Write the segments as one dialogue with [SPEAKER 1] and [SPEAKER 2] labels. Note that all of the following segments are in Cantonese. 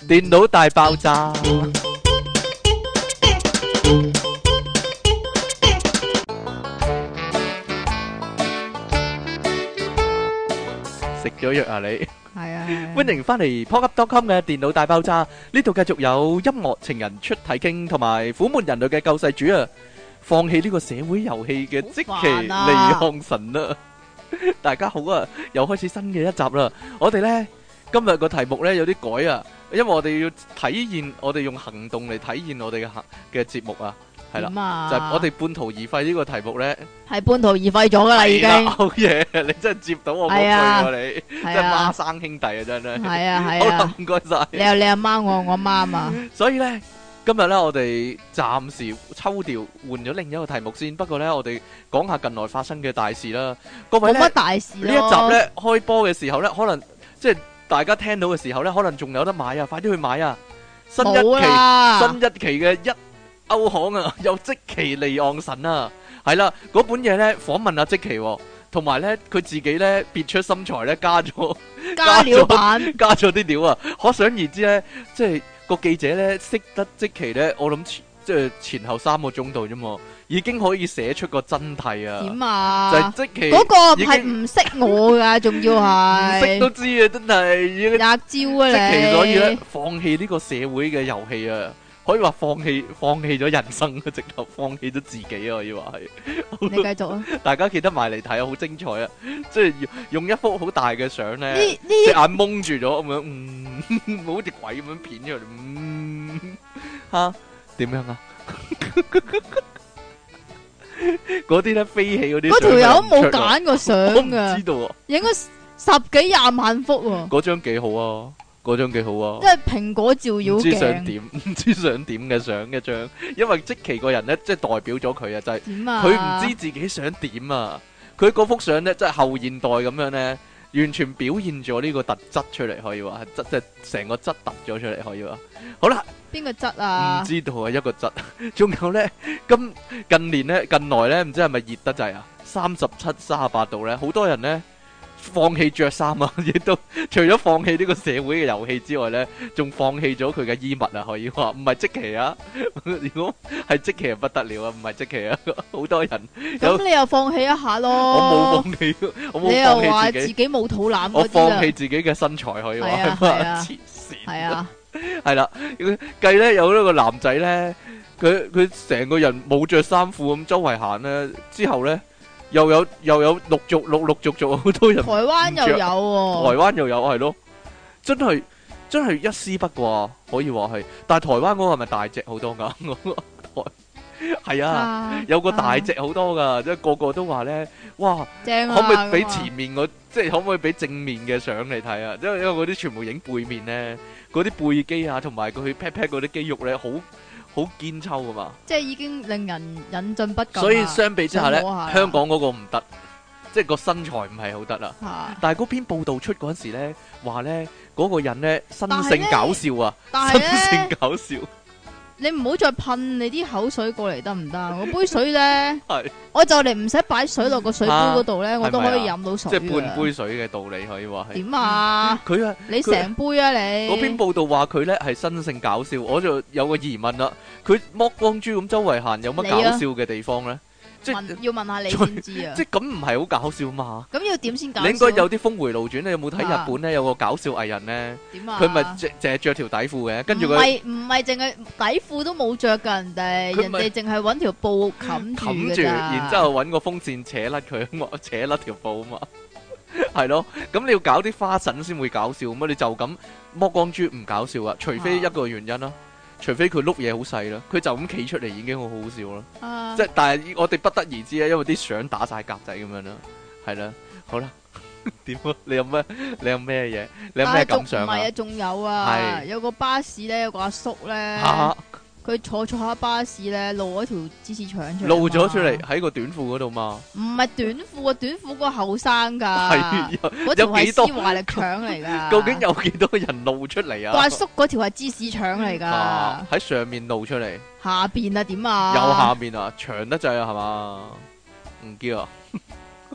[SPEAKER 1] 電腦大爆炸。食咗藥啊你？
[SPEAKER 2] 係啊，
[SPEAKER 1] 歡迎翻嚟 PodUp.com 嘅電腦大爆炸，呢度繼續有音樂情人出體經同埋苦悶人類嘅救世主啊！放棄呢個社會遊戲嘅積淇離岸神啦！大家好啊，又開始新嘅一集啦！我哋呢今日個題目呢有啲改啊，因為我哋要體現，我哋用行動嚟體現我哋嘅節目啊，係啦，就係我哋半途而廢呢個題目呢，
[SPEAKER 2] 係半途而廢咗噶啦，已經。
[SPEAKER 1] 好嘢，你真係接到我嗰句喎，你真係孖生兄弟啊，真係。
[SPEAKER 2] 係啊係啊。
[SPEAKER 1] 好啦，唔該晒。
[SPEAKER 2] 你有你阿媽，我阿媽嘛。
[SPEAKER 1] 所以呢，今日呢，我哋暫時抽調換咗另一個題目先。不過呢，我哋講下近來發生嘅大事啦。各位呢，
[SPEAKER 2] 冇乜大事咯。
[SPEAKER 1] 呢一集呢開波嘅時候呢，可能即係大家聽到嘅時候呢，可能仲有得買啊！快啲去買啊！新一期嘅一歐行啊，有積淇離岸神啊，係啦，嗰本嘢呢訪問阿積淇，同埋呢佢自己呢別出心裁呢加料版，加咗啲料啊！可想而知呢，即係個記者呢識得積淇呢，我諗即係前後3個鐘度啫嘛，已經可以寫出個真諦啊！
[SPEAKER 2] 點啊？
[SPEAKER 1] 就係積淇
[SPEAKER 2] 嗰個係唔識我噶，仲要係
[SPEAKER 1] 唔識都知啊！真係
[SPEAKER 2] 廿招啊你！
[SPEAKER 1] 積淇所以咧放棄呢個社會嘅遊戲啊！可以話放棄咗人生啊，直頭放棄咗自己啊！可以話係。
[SPEAKER 2] 你繼續啊！
[SPEAKER 1] 大家記得埋嚟睇啊，好精彩啊！即係用一幅好大嘅相咧，隻眼蒙住咗咁樣，好似鬼咁樣片出嚟，吓點樣啊？嗰啲咧飛起嗰啲，
[SPEAKER 2] 嗰條友冇揀過相噶，
[SPEAKER 1] 唔知道啊，
[SPEAKER 2] 影咗10幾20萬幅喎。
[SPEAKER 1] 嗰張幾好啊！嗰張幾好啊！
[SPEAKER 2] 即係蘋果照妖鏡，
[SPEAKER 1] 唔知想點嘅相一張，因為積淇個人咧，即係代表咗佢啊，就係佢唔知自己想點啊！佢嗰幅相咧，即係後現代咁樣咧，完全表現咗呢個特質出嚟，可以話係即係成個質突咗出嚟，可以話。好啦，
[SPEAKER 2] 邊個質啊？
[SPEAKER 1] 唔知道啊，一個質。仲有咧，近年咧，近來咧，唔知係咪熱得滯啊？37、38度咧，好多人咧。放棄着衫啊！亦都除咗放棄呢個社會嘅遊戲之外呢，仲放棄咗佢嘅衣物啊！可以話唔係積淇啊！如果係積淇就不得了啊！唔係積淇啊！好多人
[SPEAKER 2] 咁你又放棄一下咯？
[SPEAKER 1] 我冇放棄，我冇放棄自己。
[SPEAKER 2] 你又話自己冇肚腩嗰啲啊？
[SPEAKER 1] 我放棄自己嘅身材可以話係黐線。係啊，係啦。計呢有呢個男仔呢，佢成個人冇着衫褲咁周圍行呢，之後呢。又有陸續好多人，
[SPEAKER 2] 台灣又有喎，
[SPEAKER 1] 台灣又有係咯，真係一絲不掛，可以話係。但係台灣嗰個係咪大隻好多噶？係啊，有個大隻好多噶，即係個個都話咧，哇，
[SPEAKER 2] 正啊！
[SPEAKER 1] 可唔可以俾前面即係可唔可以俾正面嘅相嚟睇啊？因為嗰啲全部影背面咧，嗰啲背肌啊，同埋佢 pat pat 嗰啲肌肉咧，好堅抽噶嘛，即係
[SPEAKER 2] 已經令人引進不禁。
[SPEAKER 1] 所以相比之下咧，香港嗰個唔得，即係個身材唔係好得啦。但係嗰篇報道出嗰陣時咧，話咧嗰個人咧生性搞笑啊，生性搞笑。
[SPEAKER 2] 你唔好再噴你啲口水過嚟得唔得？我杯水咧，我就嚟唔使擺水落個水杯嗰度咧，我都可以飲到水。
[SPEAKER 1] 即係半杯水嘅道理可以話係。點
[SPEAKER 2] 啊？
[SPEAKER 1] 佢啊，
[SPEAKER 2] 你成杯啊你？
[SPEAKER 1] 嗰篇報道話佢咧係生性搞笑，我就有個疑問啦。佢剝光豬咁周圍行，有乜搞笑嘅地方咧？即係
[SPEAKER 2] 要問下你先知啊！
[SPEAKER 1] 即係咁唔係好搞笑嘛？
[SPEAKER 2] 咁要點先搞笑？
[SPEAKER 1] 你應該有啲峰迴路轉，你有冇睇日本咧有個搞笑藝人咧？點啊？佢咪淨係着條底褲嘅，跟住佢
[SPEAKER 2] 唔係淨係底褲都冇着噶，人哋淨係搵條布冚住，
[SPEAKER 1] 然之後搵個風扇扯甩佢，扯甩條布啊嘛，係咯。咁你要搞啲花臣先會搞笑，咁你就咁剝光豬唔搞笑啊？除非一個原因啦。除非佢碌嘢好細啦，佢就咁企出嚟已經好好笑啦。即係但係我哋不得而知啊，因為啲相打晒格仔咁樣啦，係啦，好啦，點啊？你有咩嘢？你有咩感想啊？
[SPEAKER 2] 唔係啊，仲有啊，有個巴士咧，有個阿叔咧。佢坐下巴士咧，露咗條芝士腸出嚟，
[SPEAKER 1] 露咗出嚟喺個短褲嗰度嘛？
[SPEAKER 2] 唔係短褲啊，短褲個後生噶，
[SPEAKER 1] 係
[SPEAKER 2] 嗰條係絲華力腸嚟噶。
[SPEAKER 1] 究竟有幾多人露出嚟啊？
[SPEAKER 2] 阿叔嗰條係芝士腸嚟噶，
[SPEAKER 1] 喺上面露出嚟，
[SPEAKER 2] 下邊啊點啊？
[SPEAKER 1] 有下面啊，長得滯啊係嘛？唔知啊。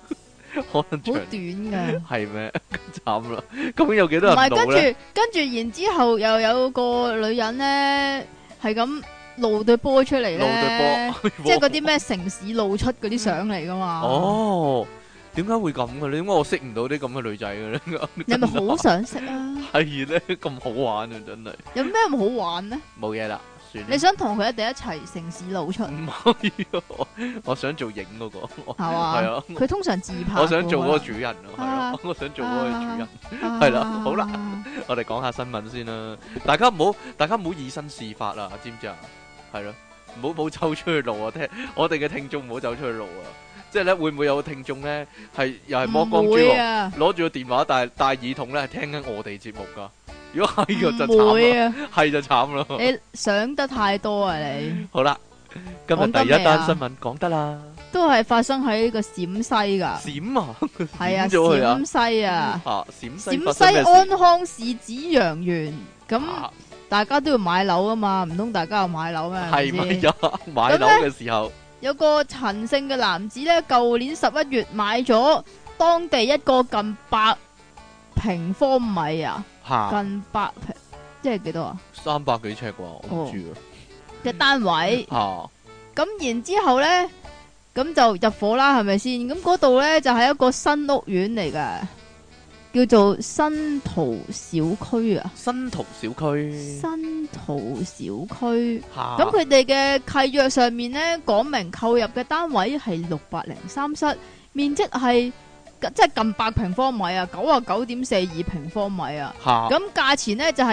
[SPEAKER 1] 可能長
[SPEAKER 2] 好短噶。
[SPEAKER 1] 係咩？慘啦！究竟有幾多
[SPEAKER 2] 唔係，
[SPEAKER 1] 人露咧？
[SPEAKER 2] 跟住，然之後又有個女人咧，係咁露對波出嚟
[SPEAKER 1] 露對
[SPEAKER 2] 咧，
[SPEAKER 1] 波，
[SPEAKER 2] 即係嗰啲咩城市露出嗰啲相嚟噶嘛。
[SPEAKER 1] 哦，點解會咁嘅咧？點解我識唔到啲咁嘅女仔嘅咧？
[SPEAKER 2] 你係咪好想識啊？
[SPEAKER 1] 係咧，咁好玩啊，真係
[SPEAKER 2] 有咩咁好玩呢？
[SPEAKER 1] 冇嘢啦，算啦。
[SPEAKER 2] 你想同佢一齊城市露出
[SPEAKER 1] 唔可以啊，我想做影嗰個，
[SPEAKER 2] 係嘛？
[SPEAKER 1] 係啊，
[SPEAKER 2] 佢通常自拍㗎。
[SPEAKER 1] 我想做嗰個主人啊，係
[SPEAKER 2] 啊
[SPEAKER 1] 咯，我想做嗰個主人。
[SPEAKER 2] 啊
[SPEAKER 1] 係啦好啦，我哋講下新聞先啦，大家唔好以身試法啊，知唔知啊？係咯，唔好走出去路啊！我哋嘅聽眾唔好走出去路啊！即係咧，會唔會有聽眾咧係又係剝光豬
[SPEAKER 2] 唔會
[SPEAKER 1] 喎，
[SPEAKER 2] 啊，
[SPEAKER 1] 攞住個電話戴耳筒咧，係聽緊我哋節目噶？如果係嘅就
[SPEAKER 2] 唔會
[SPEAKER 1] 慘啦，
[SPEAKER 2] 啊！
[SPEAKER 1] 係就慘咯。
[SPEAKER 2] 你想得太多啊！你
[SPEAKER 1] 好啦，今日第一單新聞講得啦，
[SPEAKER 2] 都係發生喺呢個陝西噶，
[SPEAKER 1] 閃啊，
[SPEAKER 2] 係啊，
[SPEAKER 1] 閃咗佢啊
[SPEAKER 2] 陝西啊，
[SPEAKER 1] 陝西
[SPEAKER 2] 陝西
[SPEAKER 1] 發生咩事
[SPEAKER 2] 安康市紫陽園，咁
[SPEAKER 1] 啊
[SPEAKER 2] 大家都要買樓啊嘛，唔通大家又買樓咩？
[SPEAKER 1] 係咪
[SPEAKER 2] 咪先？
[SPEAKER 1] 呀？買樓嘅時候
[SPEAKER 2] 有個陳姓嘅男子咧，舊年11月買咗當地一個近100平方米啊，
[SPEAKER 1] 嚇
[SPEAKER 2] 近100平，即係幾多啊？
[SPEAKER 1] 300幾尺啩，我唔知
[SPEAKER 2] 嘅單位。
[SPEAKER 1] 啊
[SPEAKER 2] 咁然之後咧，咁就入伙啦，係咪先？咁嗰度咧就係一個新屋苑嚟嘅，叫做新桃小區啊。
[SPEAKER 1] 新桃小區
[SPEAKER 2] 新桃小區，
[SPEAKER 1] 嚇
[SPEAKER 2] 咁佢哋嘅契約上面咧講明購入嘅單位係603室，面積係即係近100平方米啊，99.42平方米啊。
[SPEAKER 1] 嚇
[SPEAKER 2] 咁價錢咧就係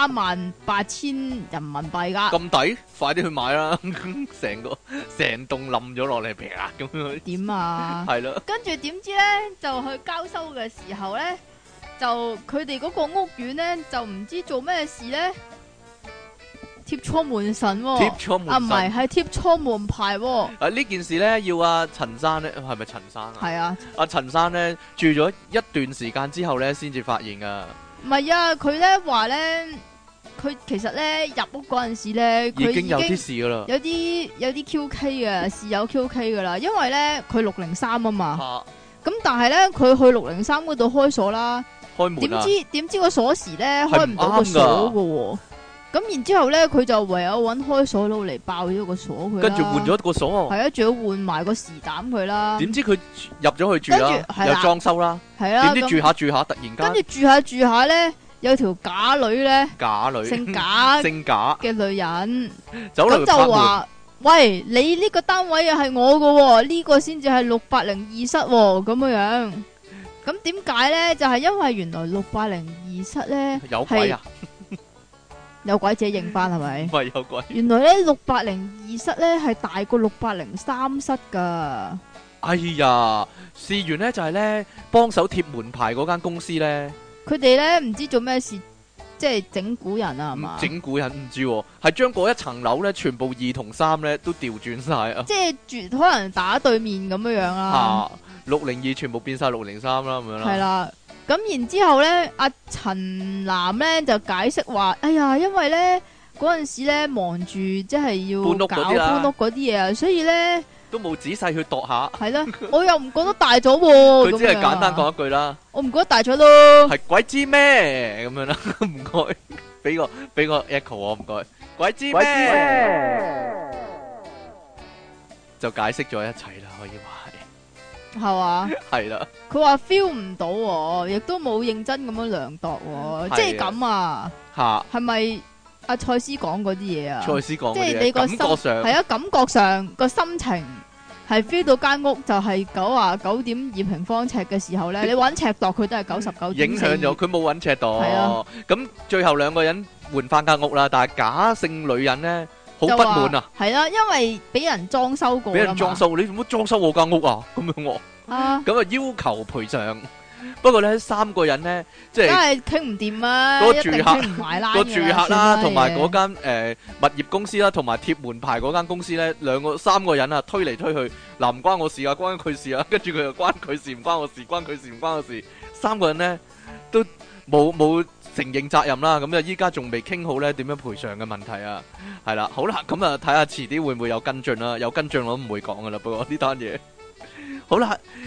[SPEAKER 2] 238000人民幣噶。
[SPEAKER 1] 咁抵，快啲去買啦！成棟冧咗落嚟，啪咁樣，
[SPEAKER 2] 點啊？
[SPEAKER 1] 係咯，
[SPEAKER 2] 跟住點知咧就去交收嘅時候咧，就佢哋嗰個屋苑咧就唔知做咩事咧，貼錯門神喎、
[SPEAKER 1] 貼錯門神
[SPEAKER 2] 啊唔係，係貼錯門牌喎、
[SPEAKER 1] 啊呢件事咧要阿陳生咧，係咪陳生啊？
[SPEAKER 2] 係啊，
[SPEAKER 1] 阿陳生咧住咗一段時間之後咧，先至發現噶，
[SPEAKER 2] 唔係啊，佢咧話咧，佢其實咧入屋嗰陣時咧，佢
[SPEAKER 1] 已經有啲事噶啦。
[SPEAKER 2] 有啲 QK 嘅，是有 QK 噶啦，因為咧佢603啊嘛，
[SPEAKER 1] 嚇
[SPEAKER 2] 咁但係咧佢去603嗰度開鎖啦。
[SPEAKER 1] 開門啊！
[SPEAKER 2] 點知個鎖匙咧開唔到個鎖嘅喎，咁然之後咧佢就唯有揾開鎖佬嚟爆咗個鎖佢啦，
[SPEAKER 1] 跟住換咗個鎖，
[SPEAKER 2] 係啊，仲要換埋個匙膽佢啦。
[SPEAKER 1] 點知佢入咗去住啦
[SPEAKER 2] 跟住，係啦
[SPEAKER 1] 又裝修啦，
[SPEAKER 2] 係啦，
[SPEAKER 1] 點知住下住下突然
[SPEAKER 2] 跟住
[SPEAKER 1] 間
[SPEAKER 2] 住下咧，有條假女咧，
[SPEAKER 1] 假女
[SPEAKER 2] 姓假
[SPEAKER 1] 姓假
[SPEAKER 2] 嘅女人，
[SPEAKER 1] 走嚟
[SPEAKER 2] 咁就話：喂，你呢個單位係我嘅喎，呢個先至係602室喎，咁樣樣。咁點解咧？就係因為原來602室咧
[SPEAKER 1] 有鬼啊！
[SPEAKER 2] 有鬼自己認翻係咪
[SPEAKER 1] 唔？係有鬼。
[SPEAKER 2] 原來咧602室咧係大過603室噶。
[SPEAKER 1] 哎呀，事緣咧就係咧幫手貼門牌嗰間公司咧，
[SPEAKER 2] 佢哋咧唔知做咩事，即係整蠱人啊，係嘛？
[SPEAKER 1] 整蠱人唔知喎，係將嗰一層樓咧全部2同3咧都調轉晒啊！
[SPEAKER 2] 即係住可能打對面咁樣樣啦。
[SPEAKER 1] 602全部變晒603啦咁樣啦。
[SPEAKER 2] 係啦，咁然之後咧，阿陳南咧就解釋話：哎呀，因為咧嗰陣時咧忙住即係要
[SPEAKER 1] 搬屋
[SPEAKER 2] 搞
[SPEAKER 1] 嗰啲啦
[SPEAKER 2] 搬屋嗰啲嘢啊，所以咧
[SPEAKER 1] 都冇仔細去度下，
[SPEAKER 2] 係啦，我又唔覺得大咗喎。
[SPEAKER 1] 佢只係
[SPEAKER 2] 咁樣
[SPEAKER 1] 簡單講一句啦，
[SPEAKER 2] 我唔覺得大咗咯。
[SPEAKER 1] 係鬼知咩咁樣啦，唔該，俾個 echo 我唔該，鬼知咩就解釋咗一切啦，可以話
[SPEAKER 2] 係嘛？
[SPEAKER 1] 係啦，
[SPEAKER 2] 佢話 feel 唔到喎，亦都冇認真咁樣量度喎，
[SPEAKER 1] 係
[SPEAKER 2] 即係咁啊？
[SPEAKER 1] 嚇
[SPEAKER 2] 係咪阿蔡司講嗰啲嘢啊？
[SPEAKER 1] 蔡司講
[SPEAKER 2] 即
[SPEAKER 1] 嗰啲嘢，感
[SPEAKER 2] 係你個心
[SPEAKER 1] 覺上
[SPEAKER 2] 係啊，感覺上個心情係 feel 到間屋就係99.2平方尺嘅時候咧，你揾尺度佢都係99.4。
[SPEAKER 1] 影響咗，佢冇揾尺度。
[SPEAKER 2] 係啊，
[SPEAKER 1] 咁最後兩個人換翻間屋啦，但係假姓女人咧好不滿啊，
[SPEAKER 2] 係啦，因為俾人裝修過，
[SPEAKER 1] 俾人裝修，你做乜裝修我間屋啊？咁樣喎。
[SPEAKER 2] 啊，
[SPEAKER 1] 咁啊要求賠償，不過咧三個人咧即
[SPEAKER 2] 梗
[SPEAKER 1] 係
[SPEAKER 2] 係傾唔掂啊，
[SPEAKER 1] 個住客
[SPEAKER 2] 一定傾唔埋啦，
[SPEAKER 1] 個住客啦，同埋嗰
[SPEAKER 2] 間
[SPEAKER 1] 間物業公司啦，同埋貼門牌嗰間公司咧，三個人啊推嚟推去，嗱唔關我事啊，關佢事啊，跟住佢又關佢事，唔關我事，關佢事唔關我事，三個人咧都冇承認責任啦，咁啊依家仲未傾好咧點樣賠償嘅問題啊，係啦，好啦，咁啊睇下遲啲會唔會有跟進啦，有跟進我都唔會講噶啦，不過呢單嘢好啦。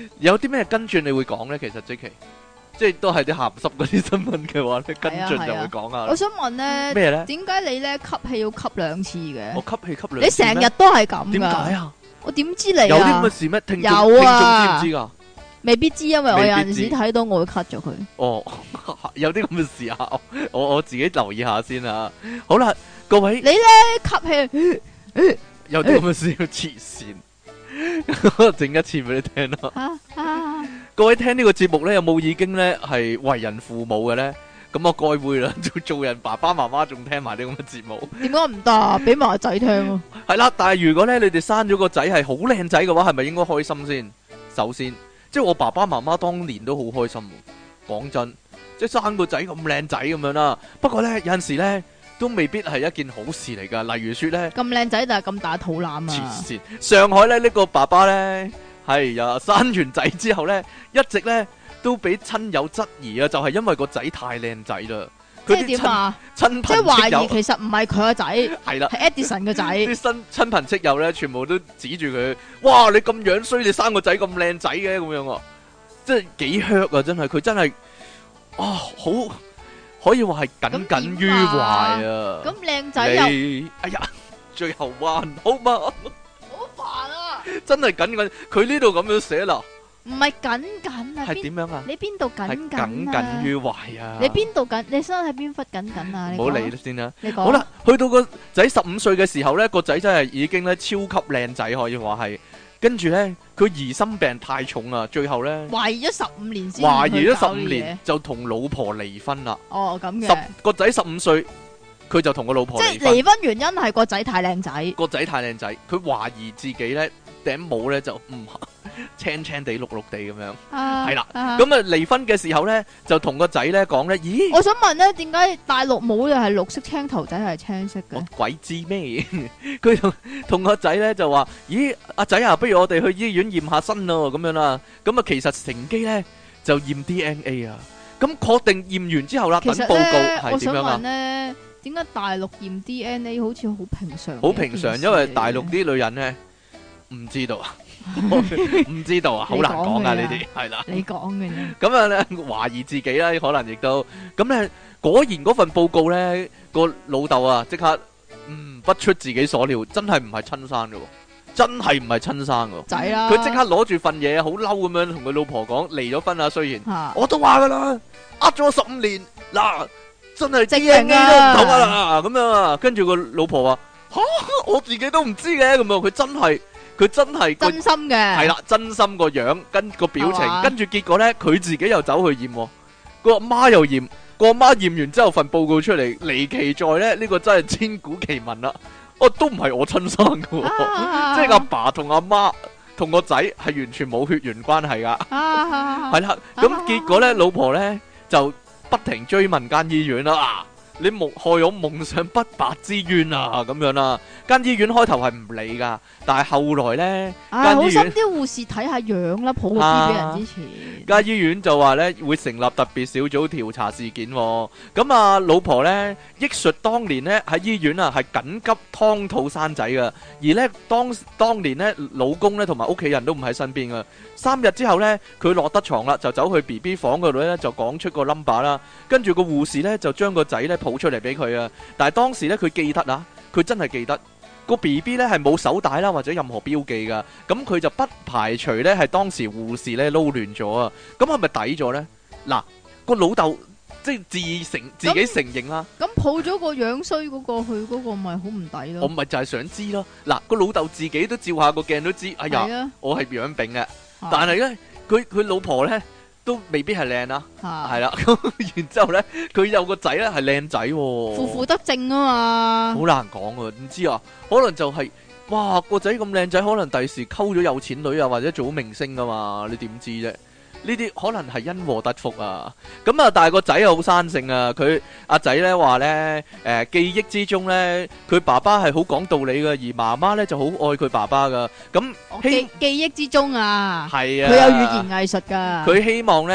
[SPEAKER 1] 有啲咩跟進你會講咧？其實即係都係啲鹹濕嗰啲新聞嘅話咧，跟進就會講下。
[SPEAKER 2] 我想問咧，
[SPEAKER 1] 咩咧？
[SPEAKER 2] 點解你咧吸氣要吸2次嘅？
[SPEAKER 1] 我吸氣吸2次，
[SPEAKER 2] 你成日都係咁噶？
[SPEAKER 1] 點解啊？
[SPEAKER 2] 我點知你啊？
[SPEAKER 1] 有啲咁嘅事咩？聽眾知唔知噶？
[SPEAKER 2] 未必知，因為我有陣時睇到我會 cut 咗佢。
[SPEAKER 1] 哦，有啲咁嘅事啊！我自己留意下先啊。好啦，各位，
[SPEAKER 2] 你咧吸氣
[SPEAKER 1] 有啲咁嘅事要黐線，整一次俾你聽啦。各位聽呢個節目咧，有冇已經咧係為人父母嘅咧？咁我該會啦，做人爸爸媽媽仲聽埋啲咁嘅節目，
[SPEAKER 2] 點解唔得？俾埋個仔聽咯。
[SPEAKER 1] 係啦，但係如果咧你哋生咗個仔係好靚仔嘅話，係咪應該開心先？首先，即係我爸爸媽媽當年都好開心。講真，即係生個仔咁靚仔咁樣啦。不過咧有陣時咧都未必係一件好事嚟噶。例如說咧，
[SPEAKER 2] 咁靚仔但係咁大肚腩啊！
[SPEAKER 1] 黐線！上海咧呢個爸爸咧係呀，生完仔之後咧一直咧都俾親友質疑啊，就係因為個仔太靚仔啦。
[SPEAKER 2] 即係點啊？
[SPEAKER 1] 親
[SPEAKER 2] 即係懷疑其實唔係佢個仔，
[SPEAKER 1] 係啦，
[SPEAKER 2] 係 Edison 個仔。
[SPEAKER 1] 啲親朋戚友咧，全部都指住佢，哇！你咁樣衰，你生個仔咁靚仔嘅咁樣啊，即係幾 hurt 啊！真係，佢真係啊，好可以話係耿耿於懷啊！
[SPEAKER 2] 咁靚仔又，
[SPEAKER 1] 哎呀，最後彎好嘛？
[SPEAKER 2] 好煩啊！
[SPEAKER 1] 真係耿耿，佢呢度咁樣寫啦。
[SPEAKER 2] 唔係緊緊啊，
[SPEAKER 1] 係點樣啊？
[SPEAKER 2] 你邊度緊緊啊？
[SPEAKER 1] 係耿耿於懷啊！
[SPEAKER 2] 你邊度緊？你身體邊忽緊緊啊？
[SPEAKER 1] 唔好理先啦。
[SPEAKER 2] 你講
[SPEAKER 1] 好啦，去到個仔15歲嘅時候咧，個仔真係已經咧超級靚仔，可以話係。跟住咧，佢疑心病太重啊，最後咧
[SPEAKER 2] 懷疑咗15年先，
[SPEAKER 1] 懷疑咗15年就同老婆離婚啦。
[SPEAKER 2] 哦，咁嘅。
[SPEAKER 1] 個仔15歲，佢就同個老婆離婚。
[SPEAKER 2] 即係離婚原因係個仔太靚仔。
[SPEAKER 1] 個仔太靚仔，佢懷疑自己咧頂帽咧就唔青青地綠綠地咁樣，係啦。咁啊離婚嘅時候咧，就同個仔咧講咧，咦？
[SPEAKER 2] 我想問咧，點解大陸帽又係綠色，青頭仔係青色嘅？
[SPEAKER 1] 我鬼知咩？佢同個仔咧就話，咦，阿仔啊，不如我哋去醫院驗下身咯，咁樣啦。咁啊，其實乘機咧就驗 DNA 啊。咁確定驗完之後啦，等報告係點樣啊？
[SPEAKER 2] 我想問咧，點解大陸驗 DNA 好似好平常？
[SPEAKER 1] 好平常，因為大陸啲女人咧唔知道啊。唔知道啊，好難講啊！呢啲係啦，
[SPEAKER 2] 你講嘅啫。
[SPEAKER 1] 咁啊咧，懷疑自己啦，可能亦都咁咧。果然嗰份報告咧，個老豆啊，即刻不出自己所料，真係唔係親生嘅，真係唔係親生嘅
[SPEAKER 2] 仔啦。
[SPEAKER 1] 佢即刻攞住份嘢，好嬲咁樣同佢老婆講離咗婚啊。雖然我都話噶啦，呃咗15年，嗱真係 DNA 都唔同啊咁樣啊。跟住個老婆話吓，我自己都唔知嘅咁樣，佢真係
[SPEAKER 2] 真心嘅，
[SPEAKER 1] 係啦，真心個樣跟個表情，跟住結果咧，佢自己又走去驗，個阿媽又驗，個阿媽驗完之後份報告出嚟，離奇在咧，呢個真係千古奇聞啦！都唔係我親生嘅，即係阿爸同阿媽同個仔係完全冇血緣關係噶，係啦。咁結果咧，老婆咧就不停追問間醫院啦。你害我夢想不白之冤啊！咁樣啦，間醫院開頭係唔理噶，但係後來咧，間醫院
[SPEAKER 2] 好心啲護士睇下樣啦，抱個 B 俾人之前，
[SPEAKER 1] 間醫院就話咧會成立特別小組調查事件。咁啊，老婆咧憶述當年咧喺醫院啊係緊急劏肚生仔噶，而咧當年咧老公咧同埋屋企人都唔喺身邊噶。3日之後咧，佢落得床啦，就走去 BB 房嗰度咧就講出個 number 啦，跟住個護士咧就將個仔咧抱出嚟俾佢啊！但係當時咧佢記得啊，佢真係記得個 BB 咧係冇手帶啦或者任何標記噶，咁佢就不排除咧係當時護士咧撈亂咗啊！咁係咪抵咗咧？嗱，個老豆即係自己承認啦。
[SPEAKER 2] 咁抱咗個樣衰嗰個去嗰個咪好唔抵咯？
[SPEAKER 1] 我咪就係想知咯。嗱，個老豆自己都照下個鏡都知，哎呀，我係樣炳嘅，但係咧佢老婆咧。都未必係靚啦，係啦，咁然之後咧，佢有個仔咧係靚仔，
[SPEAKER 2] 負負得正啊嘛，
[SPEAKER 1] 好難講啊，唔知啊，可能就係，哇個仔咁靚仔，可能第時溝咗有錢女啊，或者做明星噶嘛，你點知啫？呢啲可能係因禍得福啊！咁啊，但係個仔又好生性啊！佢阿仔咧話咧，記憶之中咧，佢爸爸係好講道理嘅，而媽媽咧就好愛佢爸爸噶。咁
[SPEAKER 2] 記憶之中啊，
[SPEAKER 1] 係啊，
[SPEAKER 2] 佢有語言藝術噶。
[SPEAKER 1] 佢希望咧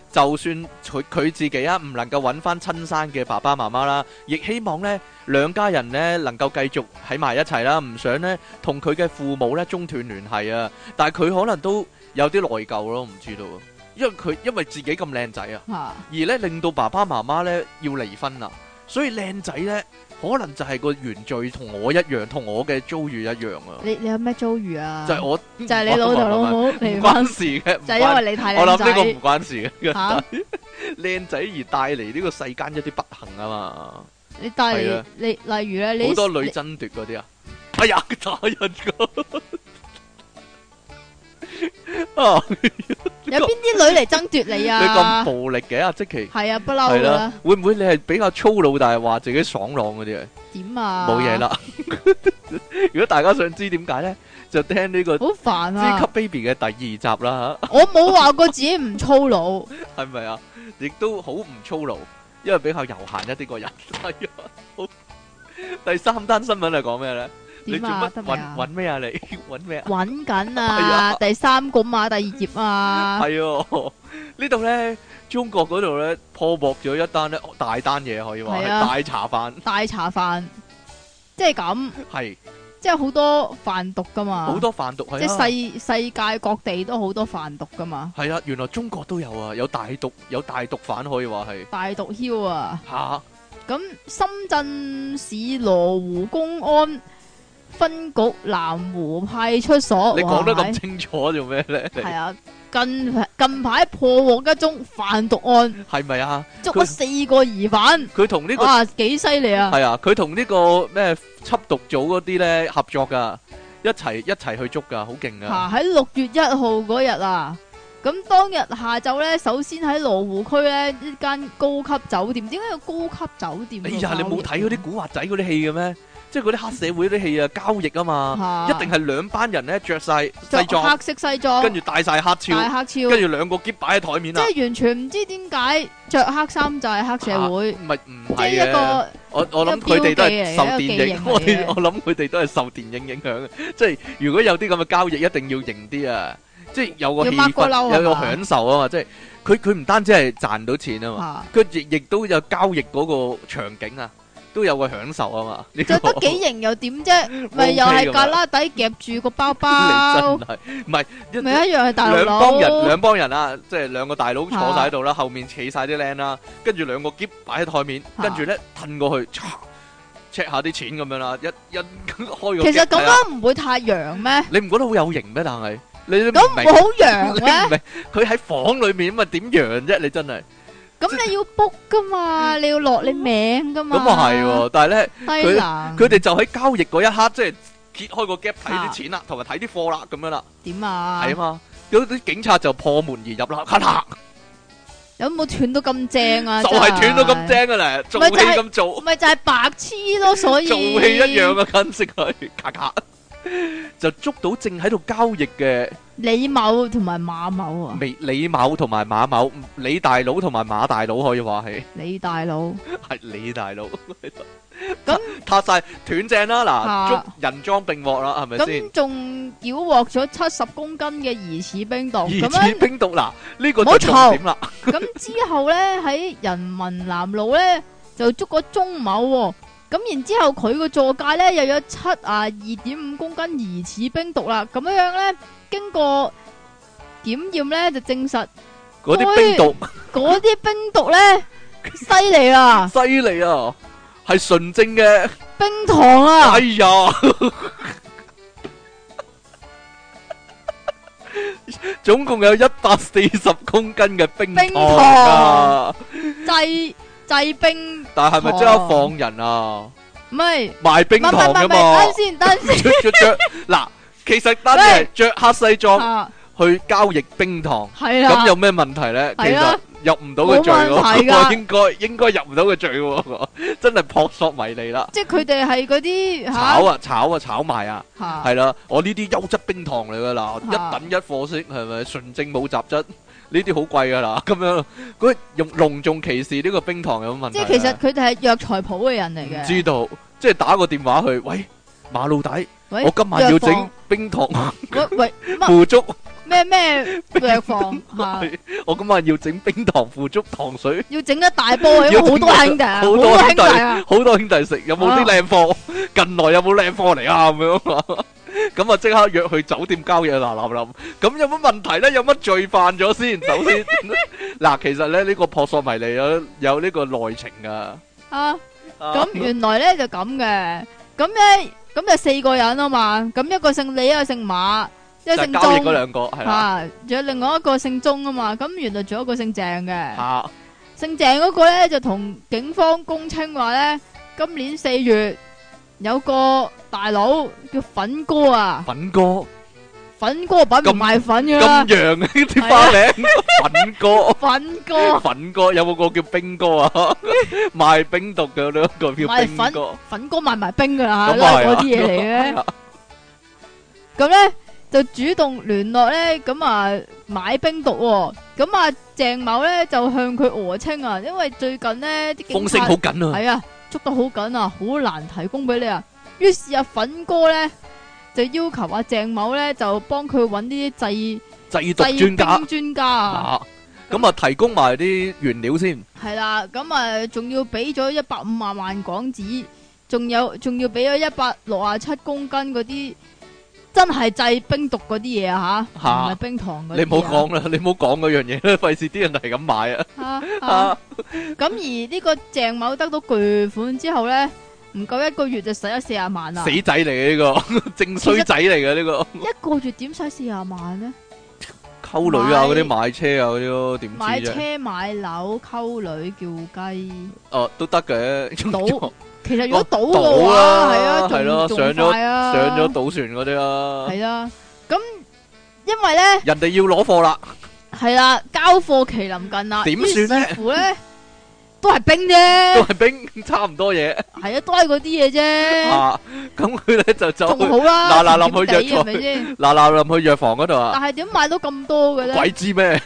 [SPEAKER 1] 就算佢自己啊唔能夠揾翻親生嘅爸爸媽媽啦，亦希望呢兩家人呢能夠繼續喺埋一齊啦，唔想呢同佢嘅父母呢中斷聯繫啊。但係佢可能都有啲內疚咯，唔知道，因為自己咁靚仔啊，而呢令到爸爸媽媽呢要離婚啦，所以靚仔呢可能就係個原罪，同我一樣，同我嘅遭遇一樣啊。
[SPEAKER 2] 你有咩遭遇啊？
[SPEAKER 1] 就係我
[SPEAKER 2] 就係你老豆老母離婚，
[SPEAKER 1] 唔關事嘅，
[SPEAKER 2] 就係因為你太靚仔。
[SPEAKER 1] 我諗呢個唔關事嘅，
[SPEAKER 2] 嚇
[SPEAKER 1] 靚仔而帶嚟呢個世間一啲不幸啊嘛。
[SPEAKER 2] 你帶嚟你例如咧，你
[SPEAKER 1] 好多女爭奪嗰啲啊，哎呀打人㗎啊！
[SPEAKER 2] 有邊啲女嚟爭奪你啊？
[SPEAKER 1] 你咁暴力嘅啊，即其
[SPEAKER 2] 係啊，不嬲噶啦。
[SPEAKER 1] 會唔會你係比較粗魯，但係話自己爽朗嗰啲啊？
[SPEAKER 2] 點啊？
[SPEAKER 1] 冇嘢啦。如果大家想知點解咧，就聽呢個
[SPEAKER 2] 好煩啊！
[SPEAKER 1] 超級 baby 嘅第二集啦吓。
[SPEAKER 2] 我冇話過自己唔粗魯，
[SPEAKER 1] 係咪啊？亦都好唔粗魯，因為比較悠閒一啲個人。係啊，好。第三單新聞係講咩咧？你做乜揾咩啊？你揾咩啊？
[SPEAKER 2] 揾緊啊！第三個嘛，第二頁啊。
[SPEAKER 1] 係哦，呢度咧，中國嗰度咧破獲咗一單咧大單嘢，可以話係大茶飯。大茶飯，
[SPEAKER 2] 即係咁。係，即係好多販毒噶嘛。好多販毒係。即係世界各地都好多販毒噶嘛。係啊，原來中國都有啊，有大毒販可以話係。大毒梟啊！嚇！咁深圳市羅湖公安分局南湖派出所，你講得咁清楚做咩咧？係啊，近排破獲一宗販毒案，係咪啊？捉咗4個疑犯，佢同呢個哇幾犀利啊！係啊，佢同呢個咩緝毒組嗰啲咧合作噶，一齊去捉噶，好勁啊！喺6月1號嗰日啊，咁當日下晝咧，首先喺羅湖區咧一間高級酒店，點解有高級酒店？哎呀，你冇睇嗰啲古惑仔嗰啲戲嘅咩？即係嗰啲黑社會啲戲啊，交易啊嘛，一定係兩班人咧着晒西裝，黑色西裝，跟住戴晒黑超，跟住兩個篋擺喺台面啦。即係完全唔知點解着黑衫就係黑社會，唔係嘅。一個我諗佢哋都係受電影，我諗佢哋都係受電影影響嘅。即係如果有啲咁嘅交易，一定要型啲啊！即係有個氣氛，有個享受啊嘛！即係佢唔單止係賺到錢啊嘛，佢亦都有交易嗰個場景啊。都有個享受啊嘛，着得幾型又點啫？咪又係格拉底夾住個包包，你真係唔係咪一樣係大佬？兩幫人啊，即係兩個大佬坐晒喺度啦，後面企晒啲靚啦，跟住兩個篋擺喺台面，跟住咧褪過去 check 下啲錢咁樣啦，一開個。其實咁樣唔會太洋咩？你唔覺得好有型咩？但係你咁唔會好洋咩？佢喺房裏面咁啊，點洋啫？你真係。咁你要 book 噶嘛，你要落你名噶嘛。咁啊係，但係咧，佢哋就喺交易嗰一刻，即係揭開個 gap 睇啲錢啦，同埋睇啲貨啦，咁樣啦。點啊？係啊嘛，有啲警察就破門而入啦，咔嚓！有冇斷到咁正啊？就係斷到咁正噶啦，做戲咁做。咪就係白痴咯，所以做戲一樣啊，跟住佢咔咔就捉到正喺度交易嘅。李某同埋馬某啊，李某同埋馬某，李大佬同埋馬大佬可以話係。李大佬係李大佬，咁撻晒斷正啦，嗱，捉人贓並獲啦，係咪先？咁仲繳獲咗70公斤嘅疑似冰毒，疑似冰毒嗱，呢個就重點啦。咁之後咧喺人民南路咧就捉個鐘某。咁然之後佢個座駕咧又有72.5公斤疑似冰毒啦，咁樣咧經過檢驗咧就證實嗰啲冰毒咧犀利啊！犀利啊！係純正嘅冰糖啊！哎呀，總共有140公斤嘅冰糖啊！製冰，但係咪即刻放人啊？唔係賣冰糖噶嘛？等先，嗱，其實單係着黑西裝去交易冰糖，咁有咩問題咧？其實入唔到個罪喎，應該入唔到個罪喎，真係撲朔迷離啦！即係佢哋係嗰啲炒賣啊，係啦，我呢啲優質冰糖嚟噶啦，一等一貨色，係咪純正冇雜質？呢啲好貴噶啦，咁樣佢用隆重其事呢個冰糖有乜問題？即係其實佢哋係藥材鋪嘅人嚟嘅。唔知道，即係打個電話去，喂，馬老大，我今晚要整冰糖，喂，腐竹， 咩藥房吓？
[SPEAKER 1] 我今晚要整冰糖腐竹糖水，
[SPEAKER 2] 要整一大波，因為好多兄弟啊，好多兄弟啊，
[SPEAKER 1] 好多兄弟食，有冇啲靚貨？近來有冇靚貨嚟啊？咁樣啊？咁啊，即刻約去酒店交嘢嗱嗱臨。咁有乜問題咧？有乜罪犯咗先？首先，嗱，其實咧呢個撲朔迷離有呢個內情噶。
[SPEAKER 2] 咁原來咧就咁嘅，咁就4個人啊嘛。咁一個姓李，一個姓馬，一個姓鐘。交易嗰2個係啦。仲有另外一個姓鐘啊嘛。咁原來仲有一個姓鄭嘅。姓鄭嗰個咧就同警方供稱話咧，今年4月。有個大佬叫粉哥啊，粉哥品唔賣粉噶啦，咁洋嘅啲花名，粉哥有冇個叫冰哥啊？賣冰毒嘅呢個叫冰哥，粉哥賣埋冰噶啦，都係嗰啲嘢嚟嘅。咁咧就主動聯絡咧，咁啊買冰毒，咁啊鄭某咧就向佢訛稱啊，因為最近咧啲風聲好緊啊，係啊。捉得好緊啊，好難提供俾你啊。於是阿粉哥咧就要求阿鄭某咧就幫佢揾啲製毒專家啊。咁啊提供埋啲原料先。係啦，咁啊仲要俾咗150萬港紙，仲要俾咗167公斤嗰啲真係製冰毒嗰啲嘢啊吓，唔係冰糖嗰啲。你唔好講啦，你唔好講嗰樣嘢啦，費事啲人係咁買啊。咁而呢個鄭某得到巨款之後咧，唔夠1個月就使咗40萬啦。死仔嚟嘅呢個，正衰仔嚟嘅呢個。1個月點使40萬咧？溝女啊，嗰啲買車啊，嗰啲咯，點知啫？買車買樓溝女叫雞。哦，都得嘅。賭，其實如果賭嘅話，係啊，係咯，上咗賭船嗰啲啦。係啊，咁因為咧，人哋要攞貨啦。係啦，交貨期臨近啦。點算咧？乎咧？都係冰啫，都係冰，差唔多嘢。係啊，都係嗰啲嘢啫。啊，咁佢咧就走，仲好啦。嗱臨去藥房，嗱臨去藥房嗰度啊。但係點買到咁多嘅咧？鬼知咩？